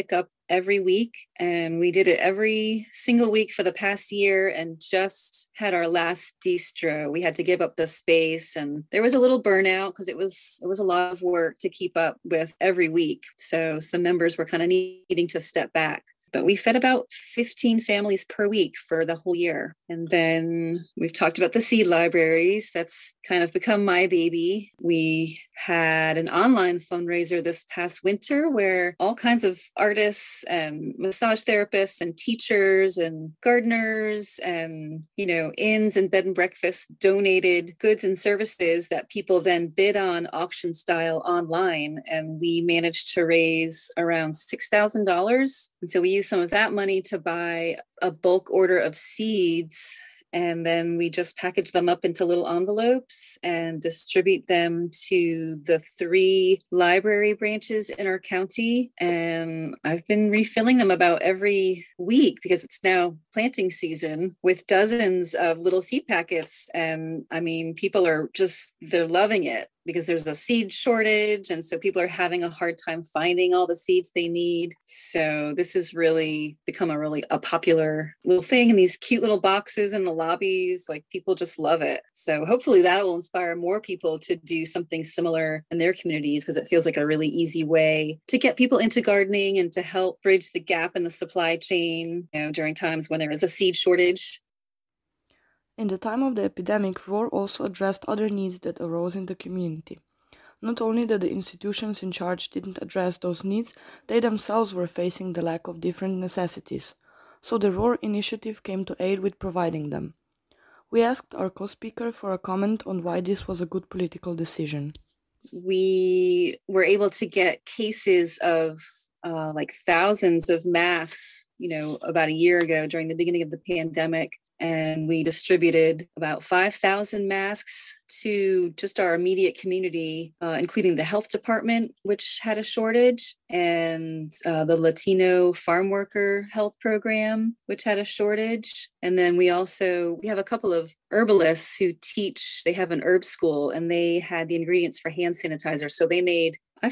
every week. And we did it every single week for the past year and just had our last distro. We had to give up the space and there was a little burnout because it was a lot of work to keep up with every week. So some members were kind of needing to step back. But we fed about 15 families per week for the whole year. And then we've talked about the seed libraries. That's kind of become my baby. We had an online fundraiser this past winter where all kinds of artists and massage therapists and teachers and gardeners and, inns and bed and breakfasts donated goods and services that people then bid on auction style online. And we managed to raise around $6,000. And so we used some of that money to buy a bulk order of seeds. And then we just package them up into little envelopes and distribute them to the 3 library branches in our county. And I've been refilling them about every week because it's now planting season with dozens of little seed packets. And I mean, people are they're loving it because there's a seed shortage. And so people are having a hard time finding all the seeds they need. So this has really become a popular little thing in these cute little boxes in the lobbies. Like people just love it. So hopefully that will inspire more people to do something similar in their communities because it feels like a really easy way to get people into gardening and to help bridge the gap in the supply chain, during times when there is a seed shortage. In the time of the epidemic, ROAR also addressed other needs that arose in the community. Not only that the institutions in charge didn't address those needs, they themselves were facing the lack of different necessities. So the ROAR initiative came to aid with providing them. We asked our co-speaker for a comment on why this was a good political decision. We were able to get cases of thousands of masks, about a year ago during the beginning of the pandemic. And we distributed about 5,000 masks to just our immediate community, including the health department, which had a shortage, and the Latino farm worker health program, which had a shortage. And then we have a couple of herbalists who they have an herb school, and they had the ingredients for hand sanitizer. So they made,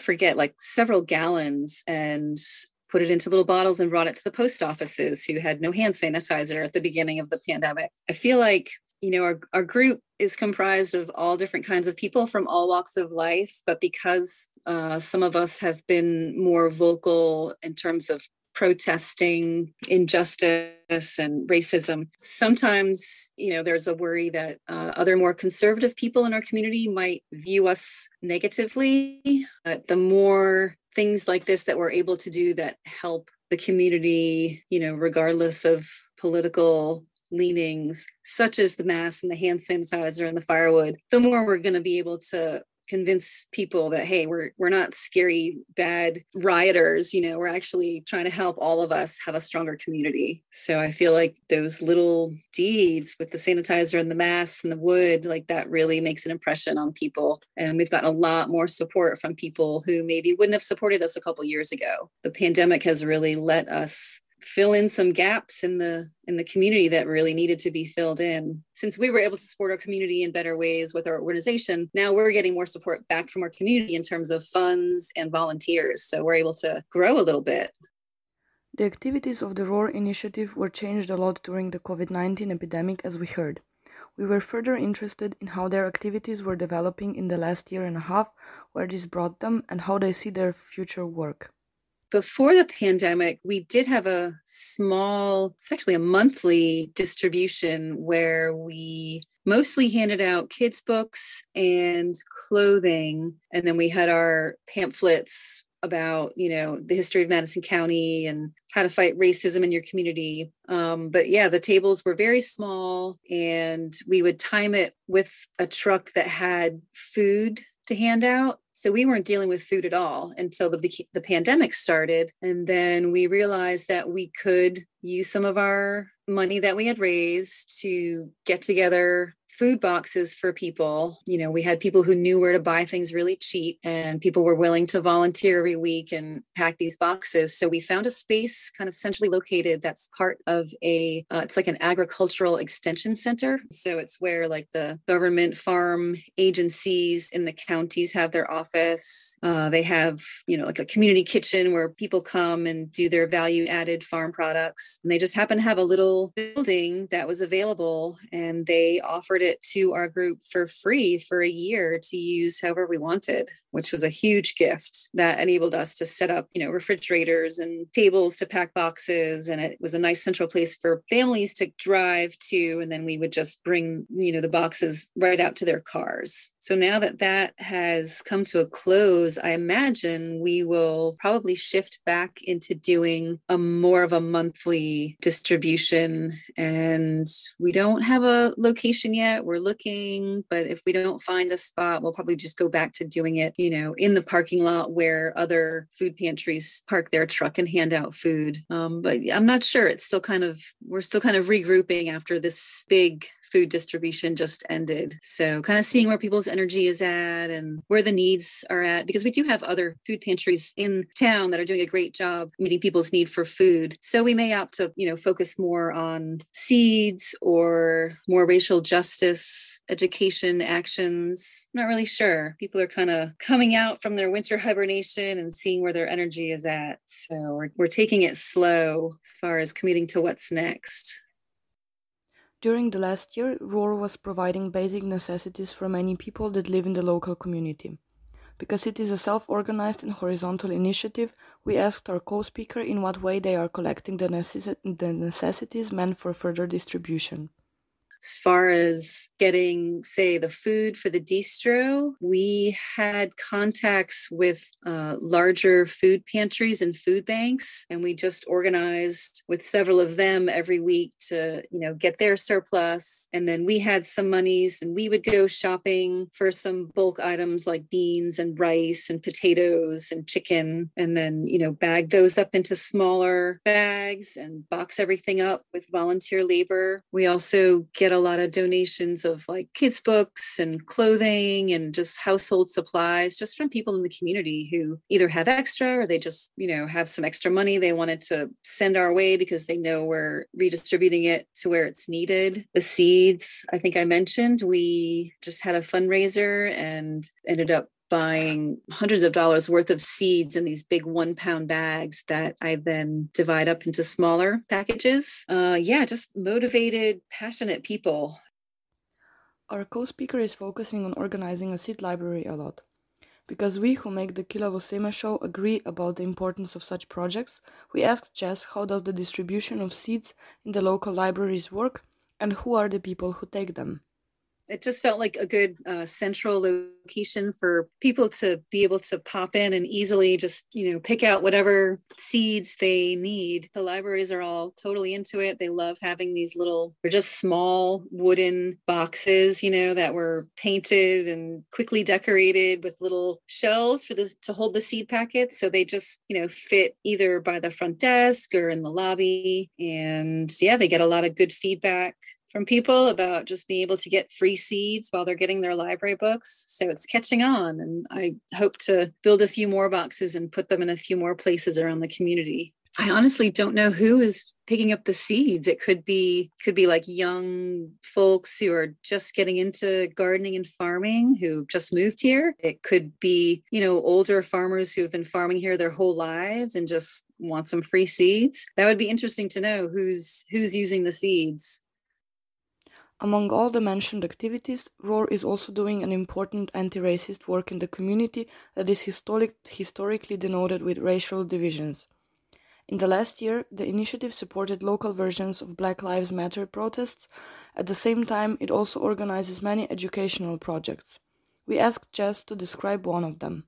several gallons and put it into little bottles and brought it to the post offices who had no hand sanitizer at the beginning of the pandemic. I feel like, our group is comprised of all different kinds of people from all walks of life, but because some of us have been more vocal in terms of protesting injustice and racism, sometimes, there's a worry that other more conservative people in our community might view us negatively. But the more things like this that we're able to do that help the community, regardless of political leanings, such as the mask and the hand sanitizer and the firewood, the more we're going to be able to convince people that, hey, we're not scary, bad rioters, we're actually trying to help all of us have a stronger community. So I feel like those little deeds with the sanitizer and the masks and the wood, that really makes an impression on people. And we've gotten a lot more support from people who maybe wouldn't have supported us a couple years ago. The pandemic has really let us fill in some gaps in the community that really needed to be filled in. Since we were able to support our community in better ways with our organization, now we're getting more support back from our community in terms of funds and volunteers. So we're able to grow a little bit. The activities of the ROAR initiative were changed a lot during the COVID-19 epidemic, as we heard. We were further interested in how their activities were developing in the last year and a half, where this brought them, and how they see their future work. Before the pandemic, we did have it's actually a monthly distribution where we mostly handed out kids' books and clothing. And then we had our pamphlets about, the history of Madison County and how to fight racism in your community. But yeah, the tables were very small, and we would time it with a truck that had food to hand out. So we weren't dealing with food at all until the pandemic started. And then we realized that we could use some of our money that we had raised to get together food boxes for people. You know, we had people who knew where to buy things really cheap, and people were willing to volunteer every week and pack these boxes. So we found a space kind of centrally located that's part of it's like an agricultural extension center. So it's where like the government farm agencies in the counties have their office. They have, you know, like a community kitchen where people come and do their value added farm products. And they just happen to have a little building that was available, and they offered it to our group for free for a year to use however we wanted, which was a huge gift that enabled us to set up, you know, refrigerators and tables to pack boxes. And it was a nice central place for families to drive to. And then we would just bring, you know, the boxes right out to their cars. So now that that has come to a close, I imagine we will probably shift back into doing more of a monthly distribution. And we don't have a location yet. We're looking, but if we don't find a spot, we'll probably just go back to doing it, you know, in the parking lot where other food pantries park their truck and hand out food. But I'm not sure. We're still kind of regrouping after this big food distribution just ended. So kind of seeing where people's energy is at and where the needs are at, because we do have other food pantries in town that are doing a great job meeting people's need for food. So we may opt to, you know, focus more on seeds or more racial justice education actions. Not really sure. People are kind of coming out from their winter hibernation and seeing where their energy is at. So we're taking it slow as far as committing to what's next. During the last year, ROAR was providing basic necessities for many people that live in the local community. Because it is a self-organized and horizontal initiative, we asked our co-speaker in what way they are collecting the necessities meant for further distribution. As far as getting, say, the food for the distro, we had contacts with larger food pantries and food banks, and we just organized with several of them every week to, you know, get their surplus. And then we had some monies, and we would go shopping for some bulk items like beans and rice and potatoes and chicken, and then, you know, bag those up into smaller bags and box everything up with volunteer labor. We also get a lot of donations of like kids' books and clothing and just household supplies just from people in the community who either have extra or they just, you know, have some extra money they wanted to send our way because they know we're redistributing it to where it's needed. The seeds, I think I mentioned, we just had a fundraiser and ended up buying hundreds of dollars worth of seeds in these big 1-pound bags that I then divide up into smaller packages. Just motivated, passionate people. Our co-speaker is focusing on organizing a seed library a lot. Because we who make the Kilavosema show agree about the importance of such projects, we asked Jess how does the distribution of seeds in the local libraries work and who are the people who take them. It just felt like a good central location for people to be able to pop in and easily just, you know, pick out whatever seeds they need. The libraries are all totally into it. They love having these they're just small wooden boxes, you know, that were painted and quickly decorated with little shelves to hold the seed packets. So they just, you know, fit either by the front desk or in the lobby. And yeah, they get a lot of good feedback from people about just being able to get free seeds while they're getting their library books. So it's catching on, and I hope to build a few more boxes and put them in a few more places around the community. I honestly don't know who is picking up the seeds. It could be like young folks who are just getting into gardening and farming who just moved here. It could be, you know, older farmers who have been farming here their whole lives and just want some free seeds. That would be interesting to know who's using the seeds. Among all the mentioned activities, ROAR is also doing an important anti-racist work in the community that is historically denoted with racial divisions. In the last year, the initiative supported local versions of Black Lives Matter protests. At the same time, it also organizes many educational projects. We asked Jess to describe one of them.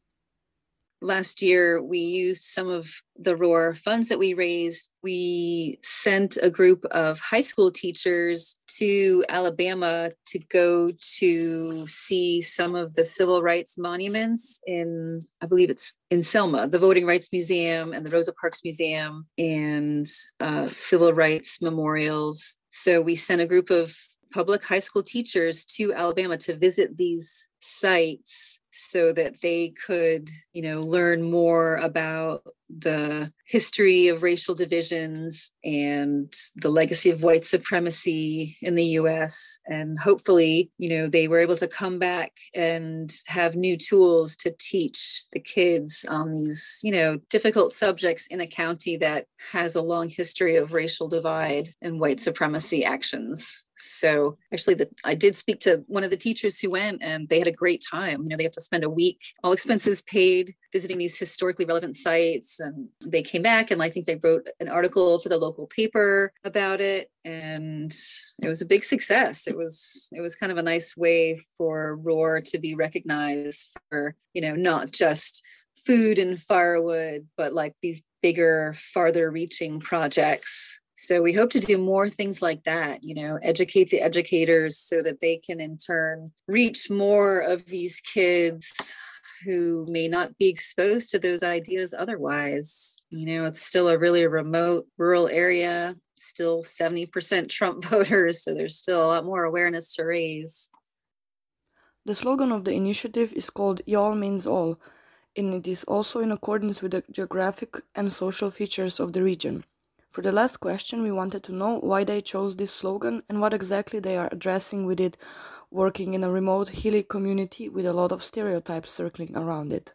Last year, we used some of the ROAR funds that we raised. We sent a group of high school teachers to Alabama to go to see some of the civil rights monuments I believe it's in Selma, the Voting Rights Museum and the Rosa Parks Museum and civil rights memorials. So we sent a group of public high school teachers to Alabama to visit these sites so that they could, learn more about the history of racial divisions and the legacy of white supremacy in the US. And hopefully, they were able to come back and have new tools to teach the kids on these, difficult subjects in a county that has a long history of racial divide and white supremacy actions. So actually, I did speak to one of the teachers who went, and they had a great time. They had to spend a week, all expenses paid, visiting these historically relevant sites. And they came back, and I think they wrote an article for the local paper about it. And it was a big success. It was kind of a nice way for Roar to be recognized for, not just food and firewood, but like these bigger, farther reaching projects. So we hope to do more things like that, educate the educators so that they can in turn reach more of these kids who may not be exposed to those ideas otherwise. It's still a really remote rural area, still 70% Trump voters, so there's still a lot more awareness to raise. The slogan of the initiative is called Y'all Means All, and it is also in accordance with the geographic and social features of the region. For the last question, we wanted to know why they chose this slogan and what exactly they are addressing with it, working in a remote, hilly community with a lot of stereotypes circling around it.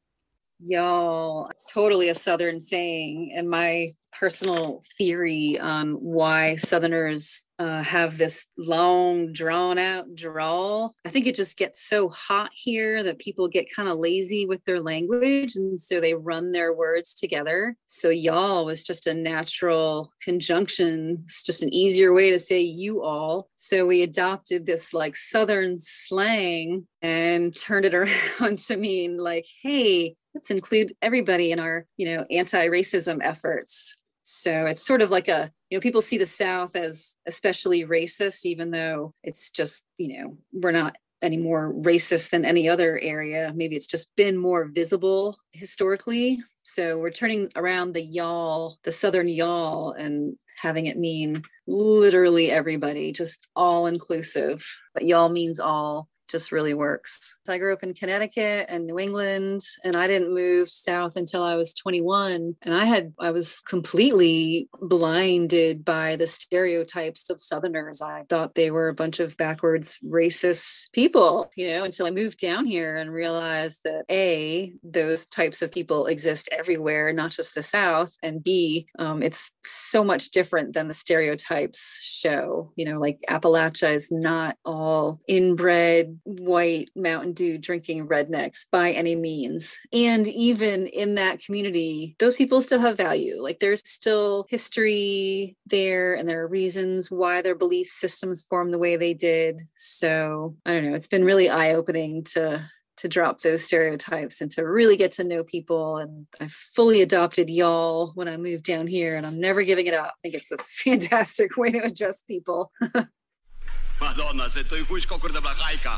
Y'all, it's totally a Southern saying, and my personal theory on why Southerners have this long, drawn-out drawl. I think it just gets so hot here that people get kind of lazy with their language, and so they run their words together. So y'all was just a natural conjunction. It's just an easier way to say you all. So we adopted this like Southern slang and turned it around to mean like, hey, let's include everybody in our, anti-racism efforts. So it's sort of like people see the South as especially racist, even though it's just, we're not any more racist than any other area. Maybe it's just been more visible historically. So we're turning around the y'all, the Southern y'all, and having it mean literally everybody, just all inclusive. But y'all means all. Just really works. I grew up in Connecticut and New England, and I didn't move south until I was 21. And I was completely blinded by the stereotypes of Southerners. I thought they were a bunch of backwards racist people, until I moved down here and realized that A, those types of people exist everywhere, not just the South, and B, it's so much different than the stereotypes show. Like Appalachia is not all inbred white Mountain Dew drinking rednecks by any means. And even in that community, those people still have value. Like there's still history there, and there are reasons why their belief systems form the way they did. So I don't know, it's been really eye-opening to drop those stereotypes and to really get to know people. And I fully adopted y'all when I moved down here, and I'm never giving it up. I think it's a fantastic way to address people. Madonna, se tu kuj kokur da blahajka.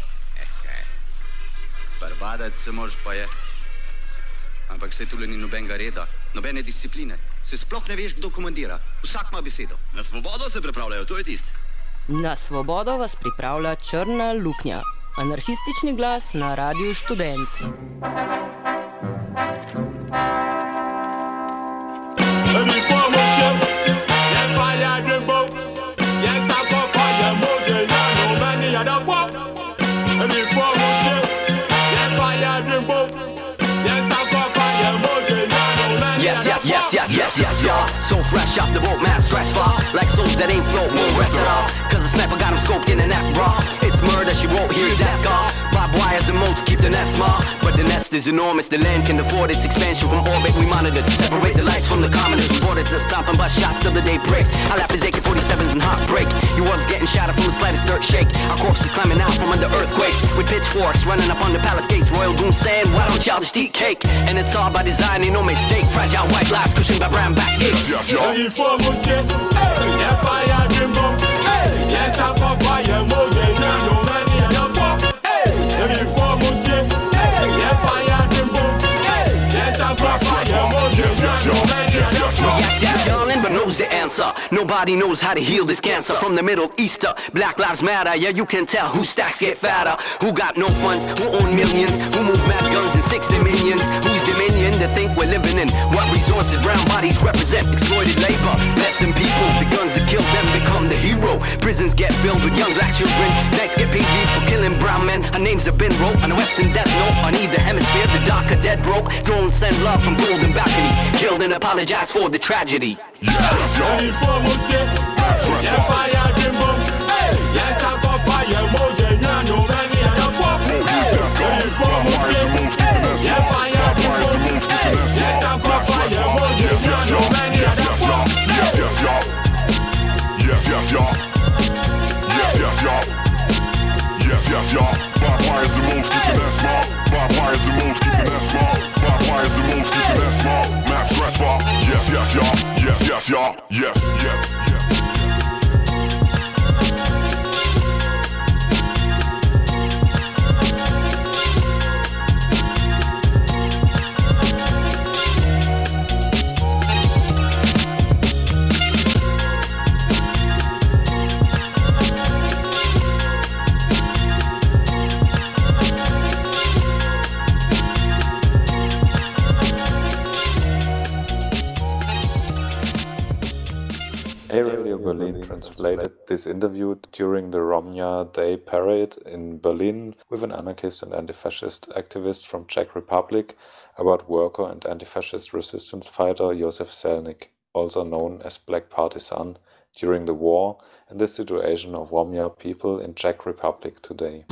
Barbada se moraš pa je. Ampak se tule ni nobenega reda, nobene discipline. Se sploh ne veš, kdo komandira. Vsak ima besedo. Na svobodo se pripravljajo, to je tist. Na svobodo vas pripravlja Črna luknja. Anarhistični glas na Radiu Študent. Yes, y'all. So fresh off the boat, man, stress fall. Like souls that ain't float, won't rest at all. Cause the sniper got him scoped in an F-bra. It's murder, she won't hear death call. Barbed wires and moats keep the nest small. But the nest is enormous, the land can afford its expansion. From orbit we monitor, separate the lights from the commoners. Borders are stomping, but shots till the day breaks. I laugh as AK-47s and heartbreak. Your world's getting shattered from the slightest dirt shake. Our corpses climbing out from under earthquakes. With pitchforks running up on the palace gates. Royal goons saying, why don't y'all just eat cake? And it's all by design, ain't no mistake. Fragile white lives cushioned by brown back aches. Yes, yawning, but knows the answer. answer. Nobody knows how to heal this cancer. From the Middle East to Black Lives Matter. Yeah, you can tell whose stacks get fatter. Who got no funds, who own millions, who move mad guns in 6 dimensions. Whose dominion to think we're living in? What resources brown bodies represent? Exploited labor, less than people. The guns that kill them become the hero. Prisons get filled with young black children. Nights get paid for killing brown men. Our names have been wrote on a western death note. On either hemisphere, the dark are dead broke. Drones send love from golden balconies. Killed and apologize for the tragedy. Yes, y'all. Barbed wires and moves, keeping that small. Barbed wires and moves, keeping that small. Barbed wires and moves, keeping that small. Mass stress fall. Yes, y'all. Yes, y'all. Yeah. Radio Berlin translated this interview during the Romnia Day parade in Berlin with an anarchist and anti-fascist activist from Czech Republic about worker and anti-fascist resistance fighter Josef Selník, also known as Black Partisan, during the war and the situation of Romnia people in Czech Republic today.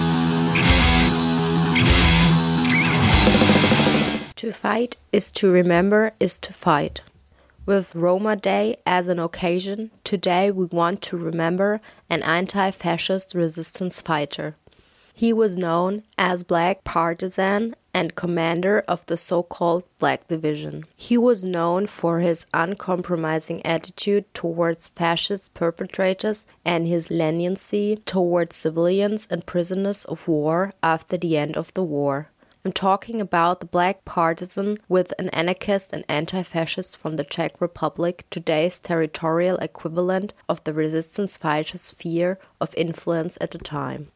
To fight is to remember is to fight. With Roma Day as an occasion, today we want to remember an anti-fascist resistance fighter. He was known as Black Partisan and commander of the so-called Black Division. He was known for his uncompromising attitude towards fascist perpetrators and his leniency towards civilians and prisoners of war after the end of the war. I'm talking about the Black Partisan with an anarchist and anti-fascist from the Czech Republic, today's territorial equivalent of the resistance fighter's sphere of influence at the time.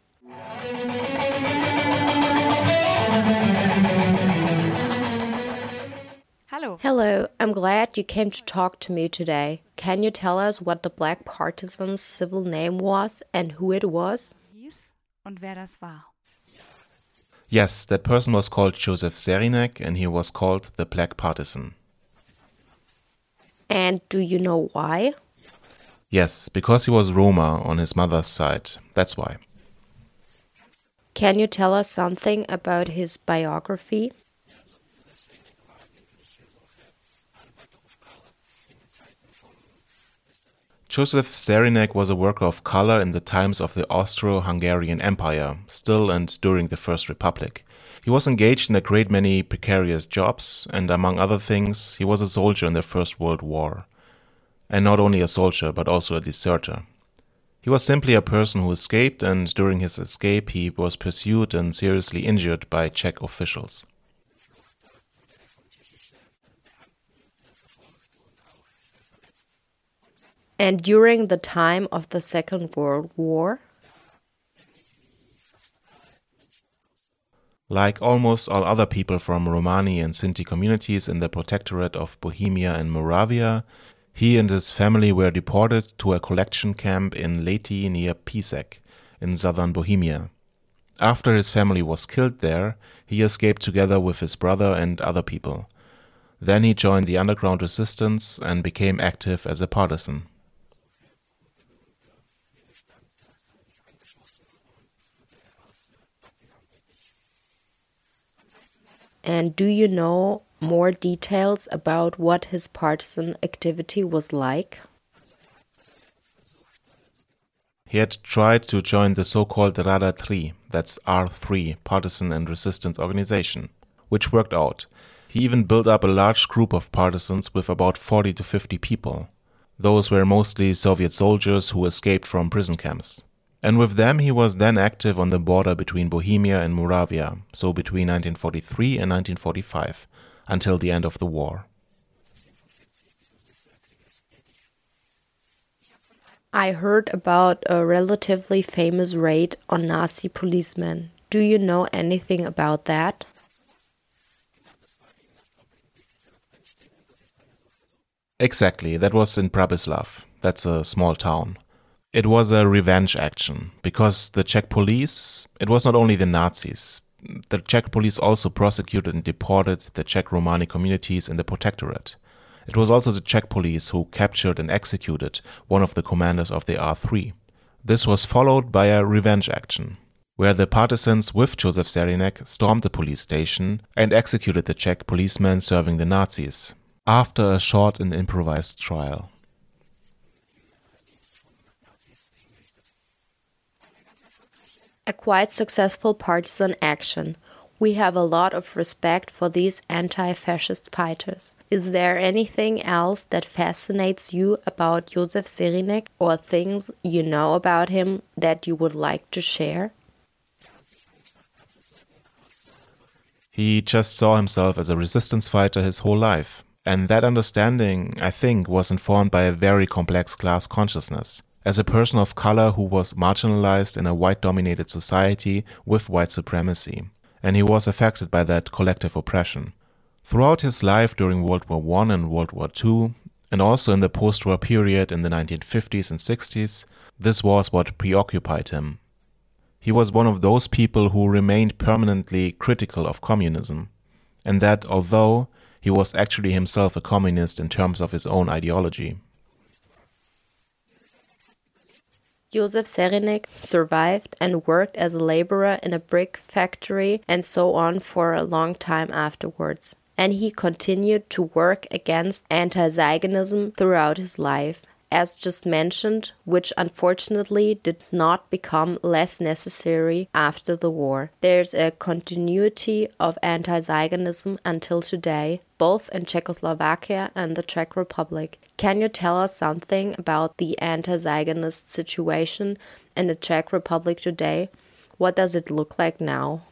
Hello, I'm glad you came to talk to me today. Can you tell us what the Black Partisan's civil name was and who it was? Und wer das war? Yes, that person was called Josef Serinek and he was called the Black Partisan. And do you know why? Yes, because he was Roma on his mother's side. That's why. Can you tell us something about his biography? Josef Serinek was a worker of color in the times of the Austro-Hungarian Empire, still and during the First Republic. He was engaged in a great many precarious jobs, and among other things, he was a soldier in the First World War. And not only a soldier, but also a deserter. He was simply a person who escaped, and during his escape he was pursued and seriously injured by Czech officials. And during the time of the Second World War? Like almost all other people from Romani and Sinti communities in the Protectorate of Bohemia and Moravia, he and his family were deported to a collection camp in Lety near Písek, in southern Bohemia. After his family was killed there, he escaped together with his brother and other people. Then he joined the underground resistance and became active as a partisan. And do you know more details about what his partisan activity was like? He had tried to join the so-called Rada 3, that's R3, Partisan and Resistance Organization, which worked out. He even built up a large group of partisans with about 40 to 50 people. Those were mostly Soviet soldiers who escaped from prison camps. And with them he was then active on the border between Bohemia and Moravia, so between 1943 and 1945, until the end of the war. I heard about a relatively famous raid on Nazi policemen. Do you know anything about that? Exactly, that was in Bratislav. That's a small town. It was a revenge action, because the Czech police, it was not only the Nazis. The Czech police also prosecuted and deported the Czech Romani communities in the Protectorate. It was also the Czech police who captured and executed one of the commanders of the R3. This was followed by a revenge action, where the partisans with Josef Serynek stormed the police station and executed the Czech policemen serving the Nazis, after a short and improvised trial. A quite successful partisan action. We have a lot of respect for these anti-fascist fighters. Is there anything else that fascinates you about Josef Serynek or things you know about him that you would like to share? He just saw himself as a resistance fighter his whole life. And that understanding, I think, was informed by a very complex class consciousness. As a person of color who was marginalized in a white-dominated society with white supremacy. And he was affected by that collective oppression. Throughout his life during World War I and World War II, and also in the post-war period in the 1950s and 60s, this was what preoccupied him. He was one of those people who remained permanently critical of communism, and that although he was actually himself a communist in terms of his own ideology. Josef Serynek survived and worked as a laborer in a brick factory and so on for a long time afterwards. And he continued to work against anti-Zionism throughout his life, as just mentioned, which unfortunately did not become less necessary after the war. There's a continuity of anti-Zionism until today, both in Czechoslovakia and the Czech Republic. Can you tell us something about the anti-Zionist situation in the Czech Republic today? What does it look like now?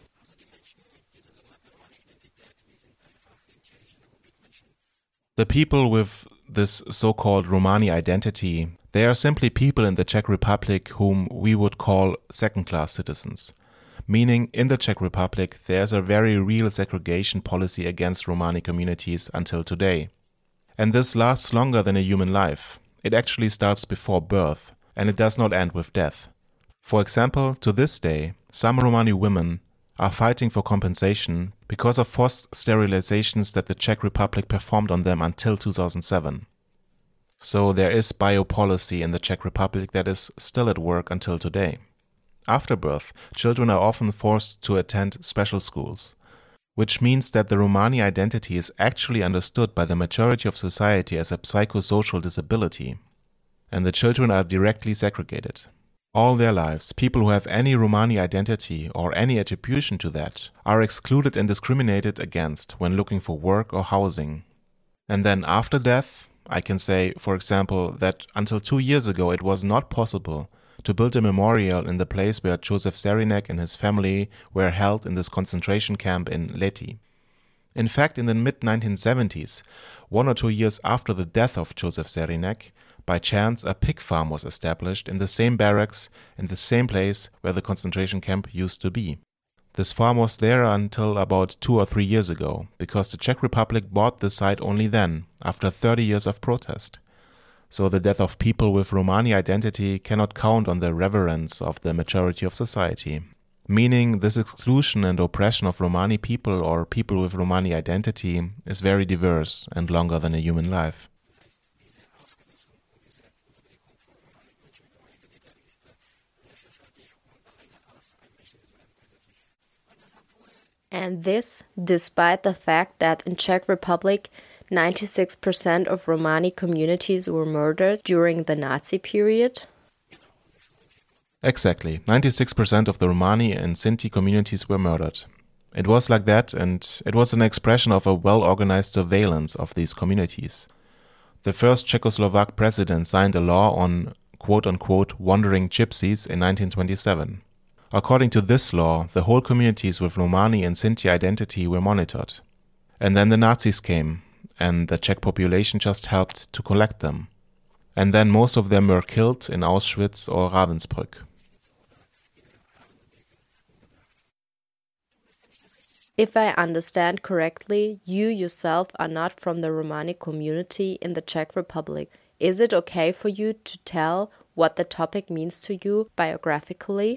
The people with this so-called Romani identity, they are simply people in the Czech Republic whom we would call second-class citizens. Meaning, in the Czech Republic, there's a very real segregation policy against Romani communities until today. And this lasts longer than a human life. It actually starts before birth, and it does not end with death. For example, to this day, some Romani women are fighting for compensation because of forced sterilizations that the Czech Republic performed on them until 2007. So there is biopolicy in the Czech Republic that is still at work until today. After birth, children are often forced to attend special schools, which means that the Romani identity is actually understood by the majority of society as a psychosocial disability, and the children are directly segregated. All their lives, people who have any Romani identity or any attribution to that are excluded and discriminated against when looking for work or housing. And then after death, I can say, for example, that until 2 years ago it was not possible to build a memorial in the place where Josef Serynek and his family were held in this concentration camp in Lety. In fact, in the mid-1970s, 1 or 2 years after the death of Josef Serynek, by chance, a pig farm was established in the same barracks, in the same place where the concentration camp used to be. This farm was there until about 2 or 3 years ago, because the Czech Republic bought the site only then, after 30 years of protest. So the death of people with Romani identity cannot count on the reverence of the majority of society. Meaning, this exclusion and oppression of Romani people or people with Romani identity is very diverse and longer than a human life. And this, despite the fact that in Czech Republic, 96% of Romani communities were murdered during the Nazi period? Exactly. 96% of the Romani and Sinti communities were murdered. It was like that, and it was an expression of a well-organized surveillance of these communities. The first Czechoslovak president signed a law on quote-unquote wandering gypsies in 1927. According to this law, the whole communities with Romani and Sinti identity were monitored. And then the Nazis came, and the Czech population just helped to collect them. and then most of them were killed in Auschwitz or Ravensbrück. If I understand correctly, you yourself are not from the Romani community in the Czech Republic. Is it okay for you to tell what the topic means to you biographically?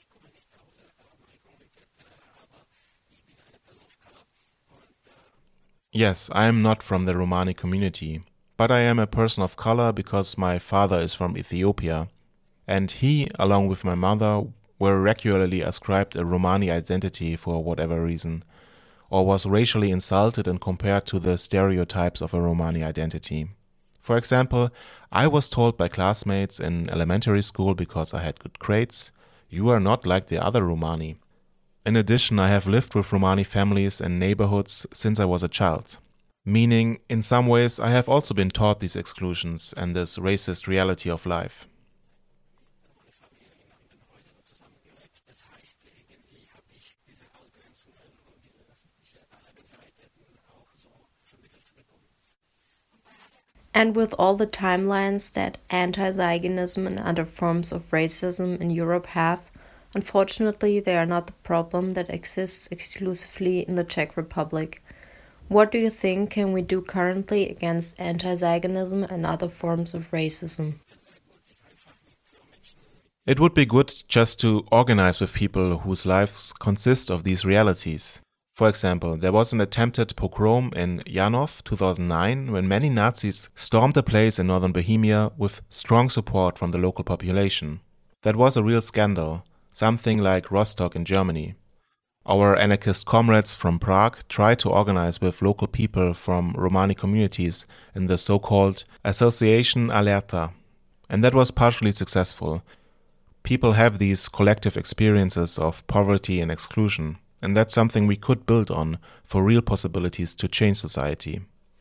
Yes, I am not from the Romani community, but I am a person of color because my father is from Ethiopia, and he, along with my mother, were regularly ascribed a Romani identity for whatever reason, or was racially insulted and compared to the stereotypes of a Romani identity. For example, I was told by classmates in elementary school because I had good grades, "You are not like the other Romani." In addition, I have lived with Romani families and neighborhoods since I was a child. Meaning, in some ways, I have also been taught these exclusions and this racist reality of life. And with all the timelines that anti-Zionism and other forms of racism in Europe have, unfortunately, they are not the problem that exists exclusively in the Czech Republic. What do you think can we do currently against anti-Zionism and other forms of racism? It would be good just to organize with people whose lives consist of these realities. For example, there was an attempted pogrom in Janov 2009 when many Nazis stormed a place in northern Bohemia with strong support from the local population. That was a real scandal, something like Rostock in Germany. Our anarchist comrades from Prague tried to organize with local people from Romani communities in the so-called Association Alerta, and that was partially successful. People have these collective experiences of poverty and exclusion, and that's something we could build on for real possibilities to change society.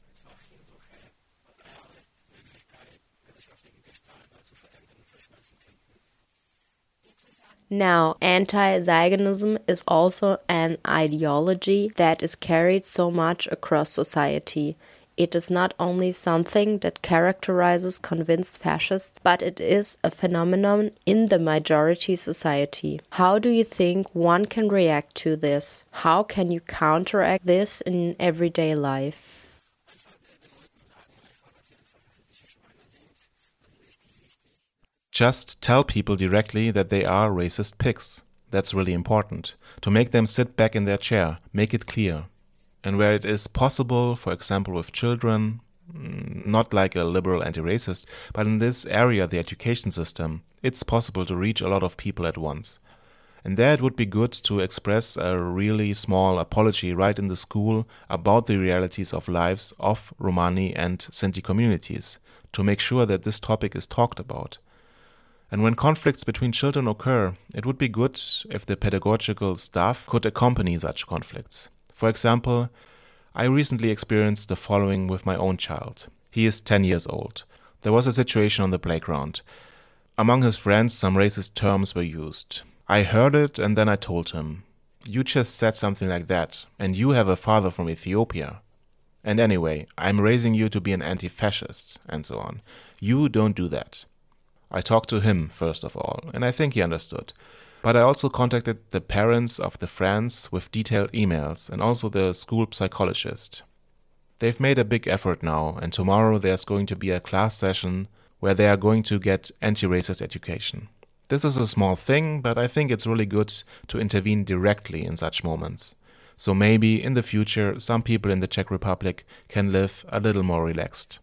Now, anti-Zionism is also an ideology that is carried so much across society. It is not only something that characterizes convinced fascists, but it is a phenomenon in the majority society. How do you think one can react to this? How can you counteract this in everyday life? Just tell people directly that they are racist pigs. That's really important. To make them sit back in their chair, make it clear. And where it is possible, for example with children, not like a liberal anti-racist, but in this area, the education system, it's possible to reach a lot of people at once. And there it would be good to express a really small apology right in the school about the realities of lives of Romani and Sinti communities, to make sure that this topic is talked about. And when conflicts between children occur, it would be good if the pedagogical staff could accompany such conflicts. For example, I recently experienced the following with my own child. He is 10 years old. There was a situation on the playground. Among his friends, some racist terms were used. I heard it and then I told him, "You just said something like that, and you have a father from Ethiopia. And anyway, I'm raising you to be an anti-fascist," and so on. "You don't do that." I talked to him, first of all, and I think he understood. But I also contacted the parents of the friends with detailed emails and also the school psychologist. They've made a big effort now, and tomorrow there's going to be a class session where they are going to get anti-racist education. This is a small thing, but I think it's really good to intervene directly in such moments. So maybe in the future some people in the Czech Republic can live a little more relaxed.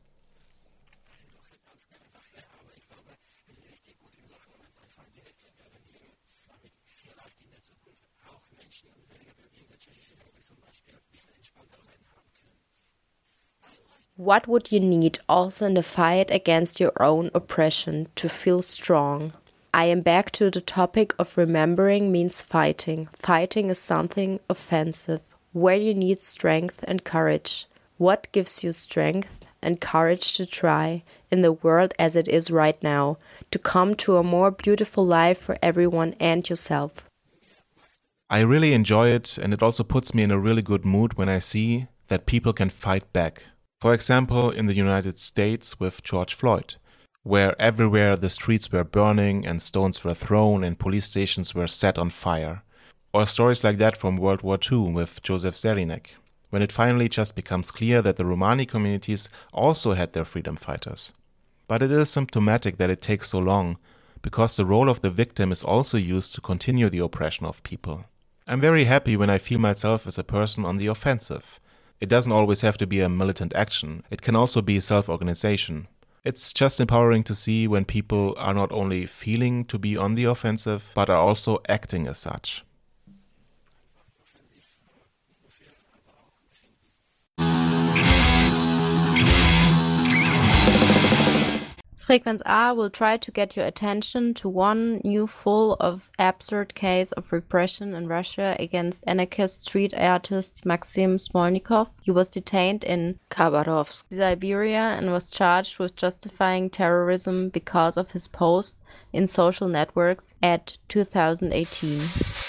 What would you need also in the fight against your own oppression to feel strong? I am back to the topic of remembering means fighting. Fighting is something offensive, where you need strength and courage. What gives you strength and courage to try, in the world as it is right now, to come to a more beautiful life for everyone and yourself? I really enjoy it, and it also puts me in a really good mood when I see that people can fight back. For example, in the United States with George Floyd. where everywhere the streets were burning and stones were thrown and police stations were set on fire. Or stories like that from World War II with Joseph Zerinek, when it finally just becomes clear that the Romani communities also had their freedom fighters. But it is symptomatic that it takes so long, because the role of the victim is also used to continue the oppression of people. I'm very happy when I feel myself as a person on the offensive. It doesn't always have to be a militant action. It can also be self-organization. It's just empowering to see when people are not only feeling to be on the offensive, but are also acting as such. Frequenz A will try to get your attention to one new full of absurd case of repression in Russia against anarchist street artist Maxim Smolnikov. He was detained in Khabarovsk, Siberia, and was charged with justifying terrorism because of his post in social networks at 2018.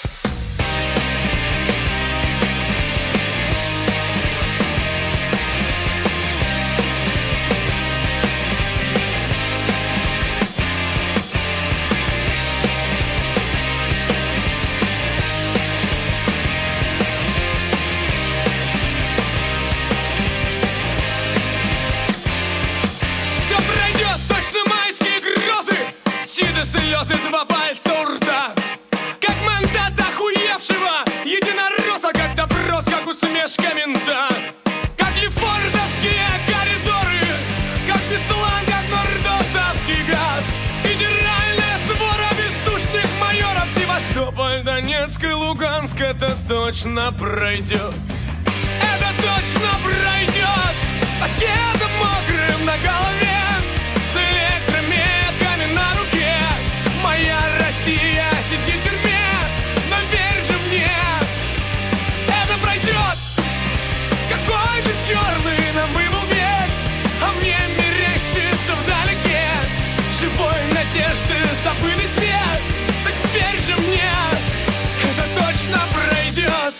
Слезы, два пальца у рта, как мандат охуевшего единоросса, как допрос, как усмешка мента, как лефортовские коридоры, как Беслан, как нордостовский газ, федеральная свора бездушных майоров. Севастополь, Донецк и Луганск, это точно пройдет. Это точно пройдет. С пакетом мокрым на голове, с электрометками на руке. Моя Россия сидит в тюрьме, но верь же мне, это пройдет. Какой же черный нам выбыл век, а мне мерещится вдалеке живой надежды забытый свет. Так верь же мне, это точно пройдет.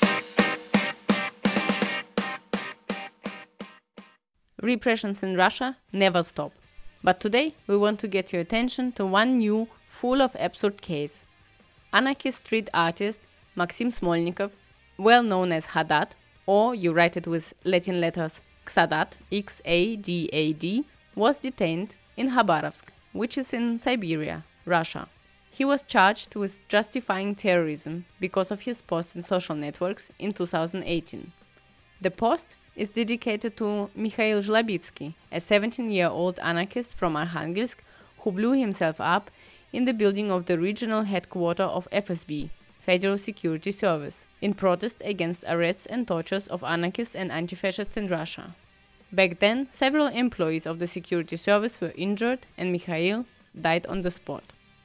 Repressions in Russia never stop. But today we want to get your attention to one new, full of absurd case. Anarchist street artist Maxim Smolnikov, well known as Haddad, or you write it with Latin letters Xadat, X-A-D-A-D, was detained in Khabarovsk, which is in Siberia, Russia. He was charged with justifying terrorism because of his post in social networks in 2018. The post is dedicated to Mikhail Zhlobitsky, a 17-year-old anarchist from Arkhangelsk who blew himself up in the building of the regional headquarters of FSB, Federal Security Service, in protest against arrests and tortures of anarchists and anti-fascists in Russia. Back then, several employees of the security service were injured and Mikhail died on the spot.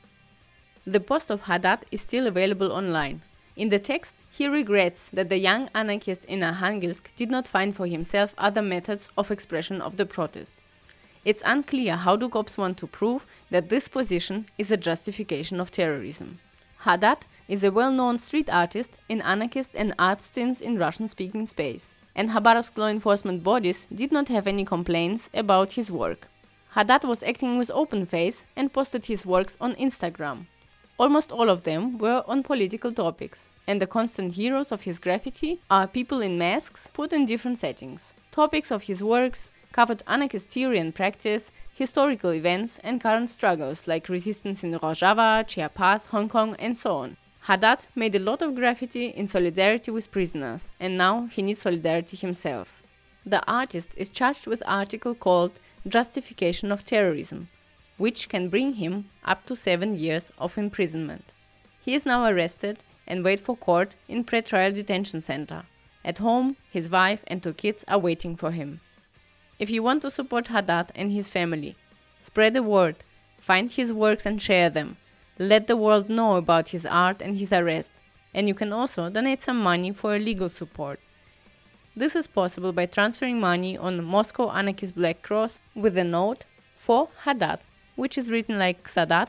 The post of Haddad is still available online. In the text, he regrets that the young anarchist in Arkhangelsk did not find for himself other methods of expression of the protest. It's unclear how the cops want to prove that this position is a justification of terrorism. Haddad is a well-known street artist in anarchist and art scenes in Russian-speaking space, and Khabarovsk law enforcement bodies did not have any complaints about his work. Haddad was acting with open face and posted his works on Instagram. Almost all of them were on political topics, and the constant heroes of his graffiti are people in masks put in different settings. Topics of his works covered anarchist theory and practice, historical events, and current struggles like resistance in Rojava, Chiapas, Hong Kong, and so on. Haddad made a lot of graffiti in solidarity with prisoners, and now he needs solidarity himself. The artist is charged with an article called Justification of Terrorism, which can bring him up to 7 years of imprisonment. He is now arrested and waits for court in pre-trial detention center. At home, his wife and 2 kids are waiting for him. If you want to support Haddad and his family, spread the word, find his works and share them. Let the world know about his art and his arrest, and you can also donate some money for legal support. This is possible by transferring money on Moscow Anarchist Black Cross with the note for Haddad, which is written like Xadat,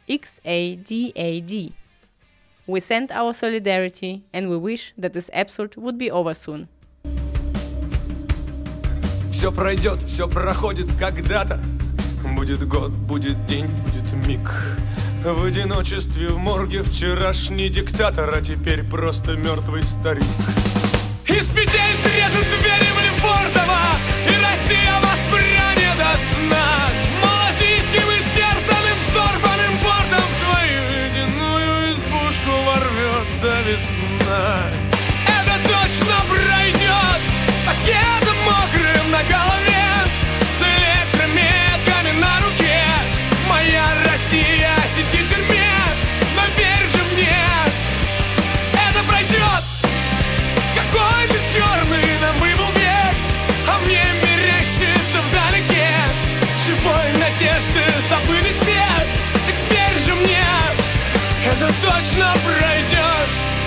X-A-D-A-D. We send our solidarity and we wish that this absurd would be over soon. Все пройдет, все проходит когда-то. Будет год, будет день, будет миг. В одиночестве в морге вчерашний диктатор, а теперь просто мертвый старик. Из петель срежут двери в Лефортово, и Россия воспрянет от сна. Малазийским истерзанным, взорванным портом в твою ледяную избушку ворвется весна. Это точно пройдет с пакетом мокрым на голове, с электрометками на руке. Моя Россия сидит в тюрьме, но верь же мне, это пройдет. Какой же черный нам был век, а мне мерещится вдалеке живой надежды забытый свет. Так верь же мне, это точно пройдет.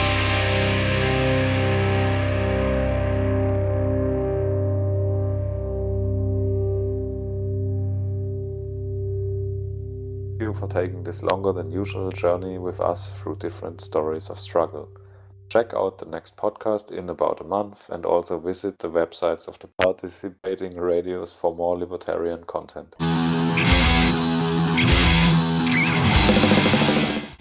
Thank you for taking this longer than usual journey with us through different stories of struggle. Check out the next podcast in about a month and also visit the websites of the participating radios for more libertarian content.